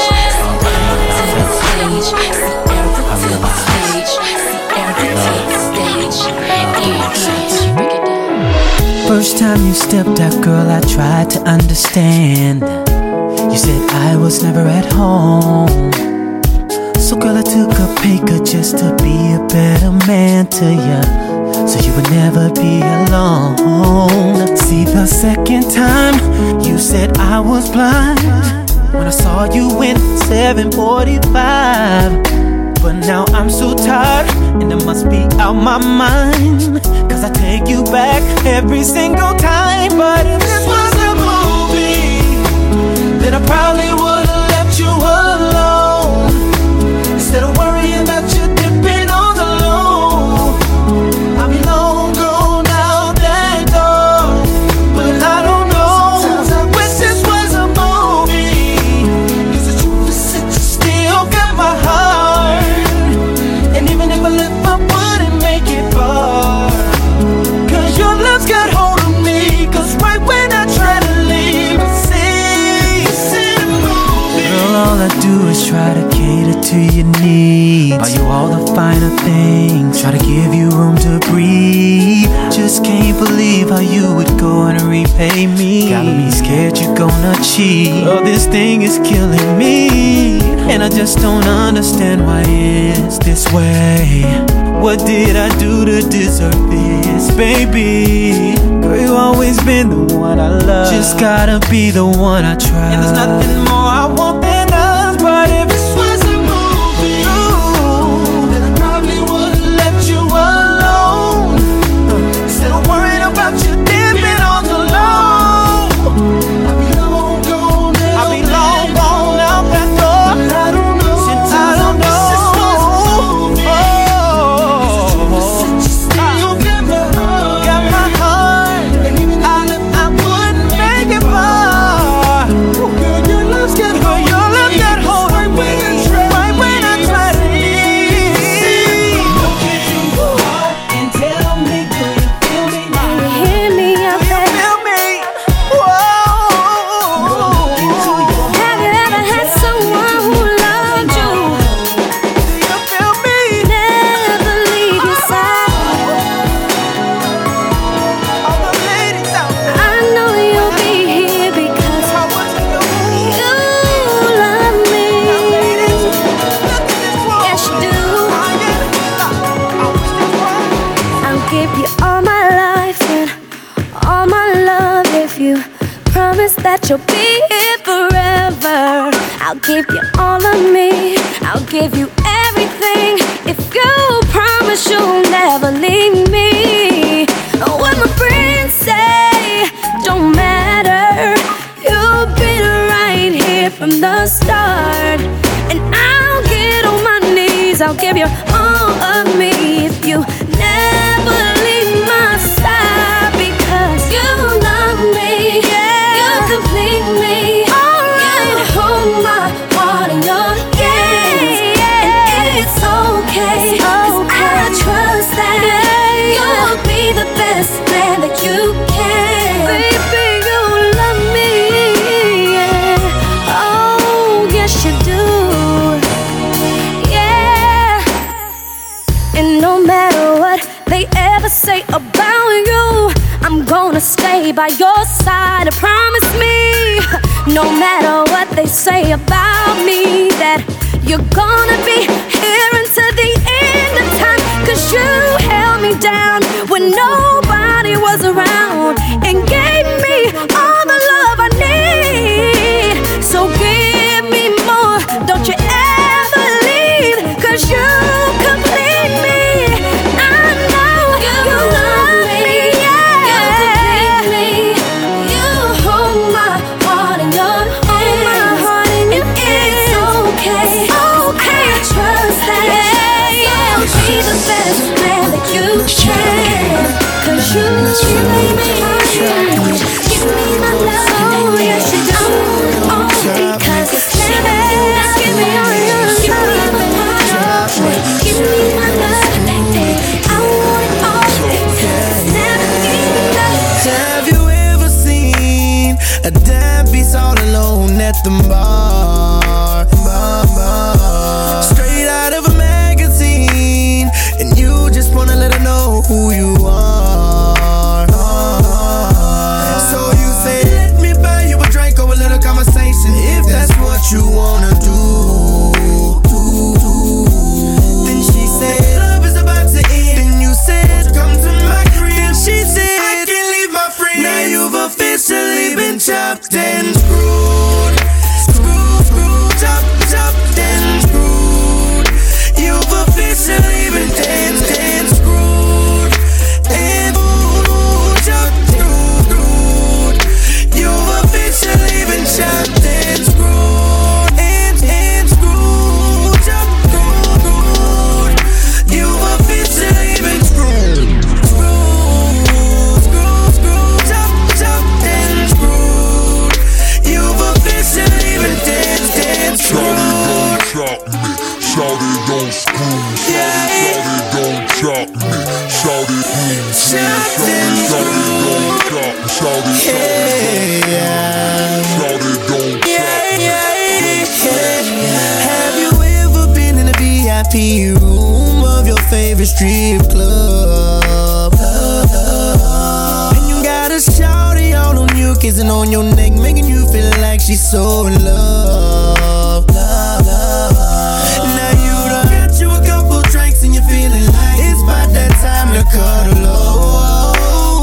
First time you stepped out, girl, I tried to understand. You said I was never at home. So girl, I took a pay cut just to be a better man to you, so you would never be alone. See, the second time you said I was blind when I saw you in seven forty-five. But now I'm so tired and I must be out my mind, cause I take you back every single time. But if this was a movie, then I probably would've left you alone, instead of worrying about you dipping all alone. to your needs, buy you all the finer things, try to give you room to breathe. Just can't believe how you would go and repay me. Got me scared you're gonna cheat. Oh, this thing is killing me, and I just don't understand why it's this way. What did I do to deserve this, baby? Girl, you always been the one I love. Just gotta be the one I trust. And there's nothing more I want than us. But if this was a movie, ooh, then I probably would've left you alone. Instead of worrying about you dipping on the low, I'll be long gone out. I'll be long gone out that door. But I don't know. Since I don't know. That you'll be here forever. I'll give you all of me. I'll give you everything if you promise you'll never leave me. What my friends say don't matter. You'll be right here from the start. And I'll get on my knees. I'll give you all of me if you never leave my side, because you love me. Yeah. Complete me, alright. You hold my heart in your hands, and it's okay, 'cause I trust that you'll be the best man that you can. Baby, you love me, yeah. Oh, yes you do, yeah. And no matter what they ever say about you, I'm gonna stay by your side, I promise me. No matter what they say about me, that you're gonna be here until the end of time. 'Cause you held me down when nobody was around, and gave me all the love I need. So give me more, don't you ever leave, 'cause you complete me. I know you, you love me. strip club. And you got a shawty all on you, kissing on your neck, making you feel like she's so in love. Love, love. Now you done got you a couple drinks and you're feeling like it's about that time to cuddle up.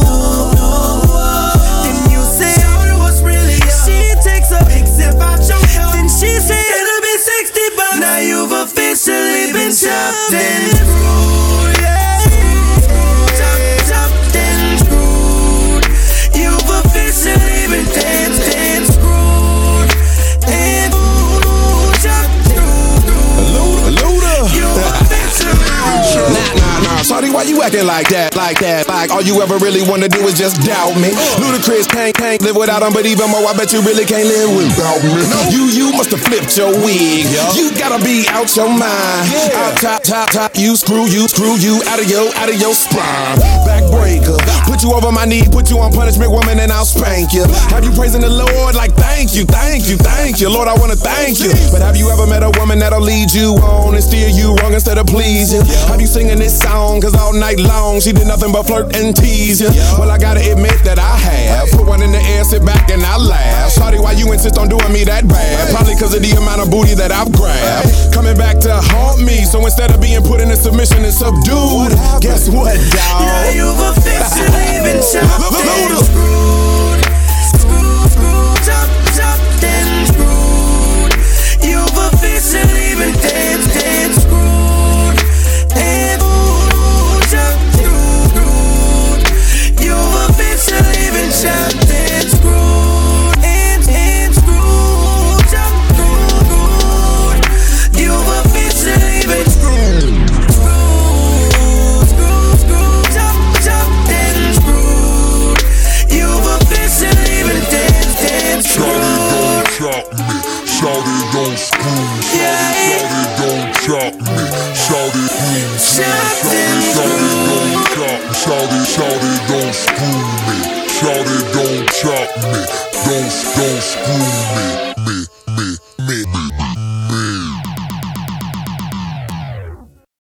Then you say, "Shawty, what's really up?" She takes a big sip out your cup. Then she said, "It'll be sixty bucks." Now you've officially been chopped and screwed, yeah. Chopped, chopped and screwed. You've officially been danced and screwed and chopped, screwed. Luda. You've officially been chopped. Nah, nah, nah. Shawty, why you acting like that? Like that? Like all you ever really wanna do is just doubt me. Ludacris can't, can't live without him, but even more, I bet you really can't live without me. You, you must have flipped your wig. You gotta be out your mind. Out top, top, top. You screw, you screw you out of your, out of your spine. Backbreaker. Put you over my knee, put you on punishment, woman, and I'll spank you. Have you praising the Lord like thank you, thank you, thank you, Lord, I wanna thank you. But have you ever met a woman that'll lead you on and steer you wrong instead of please you? Have you singing this song? Cause all night long she did nothing but flirt and tease you. Well, I gotta admit that I have. Put one in the air, sit back and I laugh. Shawty, why you insist on doing me that bad? Probably cause of the amount of booty that I've grabbed. Coming back to haunt me, so instead of being put in a submission and subdued, guess what, dawg? Now you've officially been chopped and screwed. Screwed, screwed, chopped, chopped and screwed. You've officially been danced and screwed and chopped, screwed. You've officially been chopped and screwed and, and screwed, chopped, screwed. You've officially been screwed. Shawty, don't screw me. Shawty, don't chop me. Shawty, Shawty, don't chop me. Shawty, Shawty, don't screw me. Shawty, don't chop me. Don't, don't screw me, me.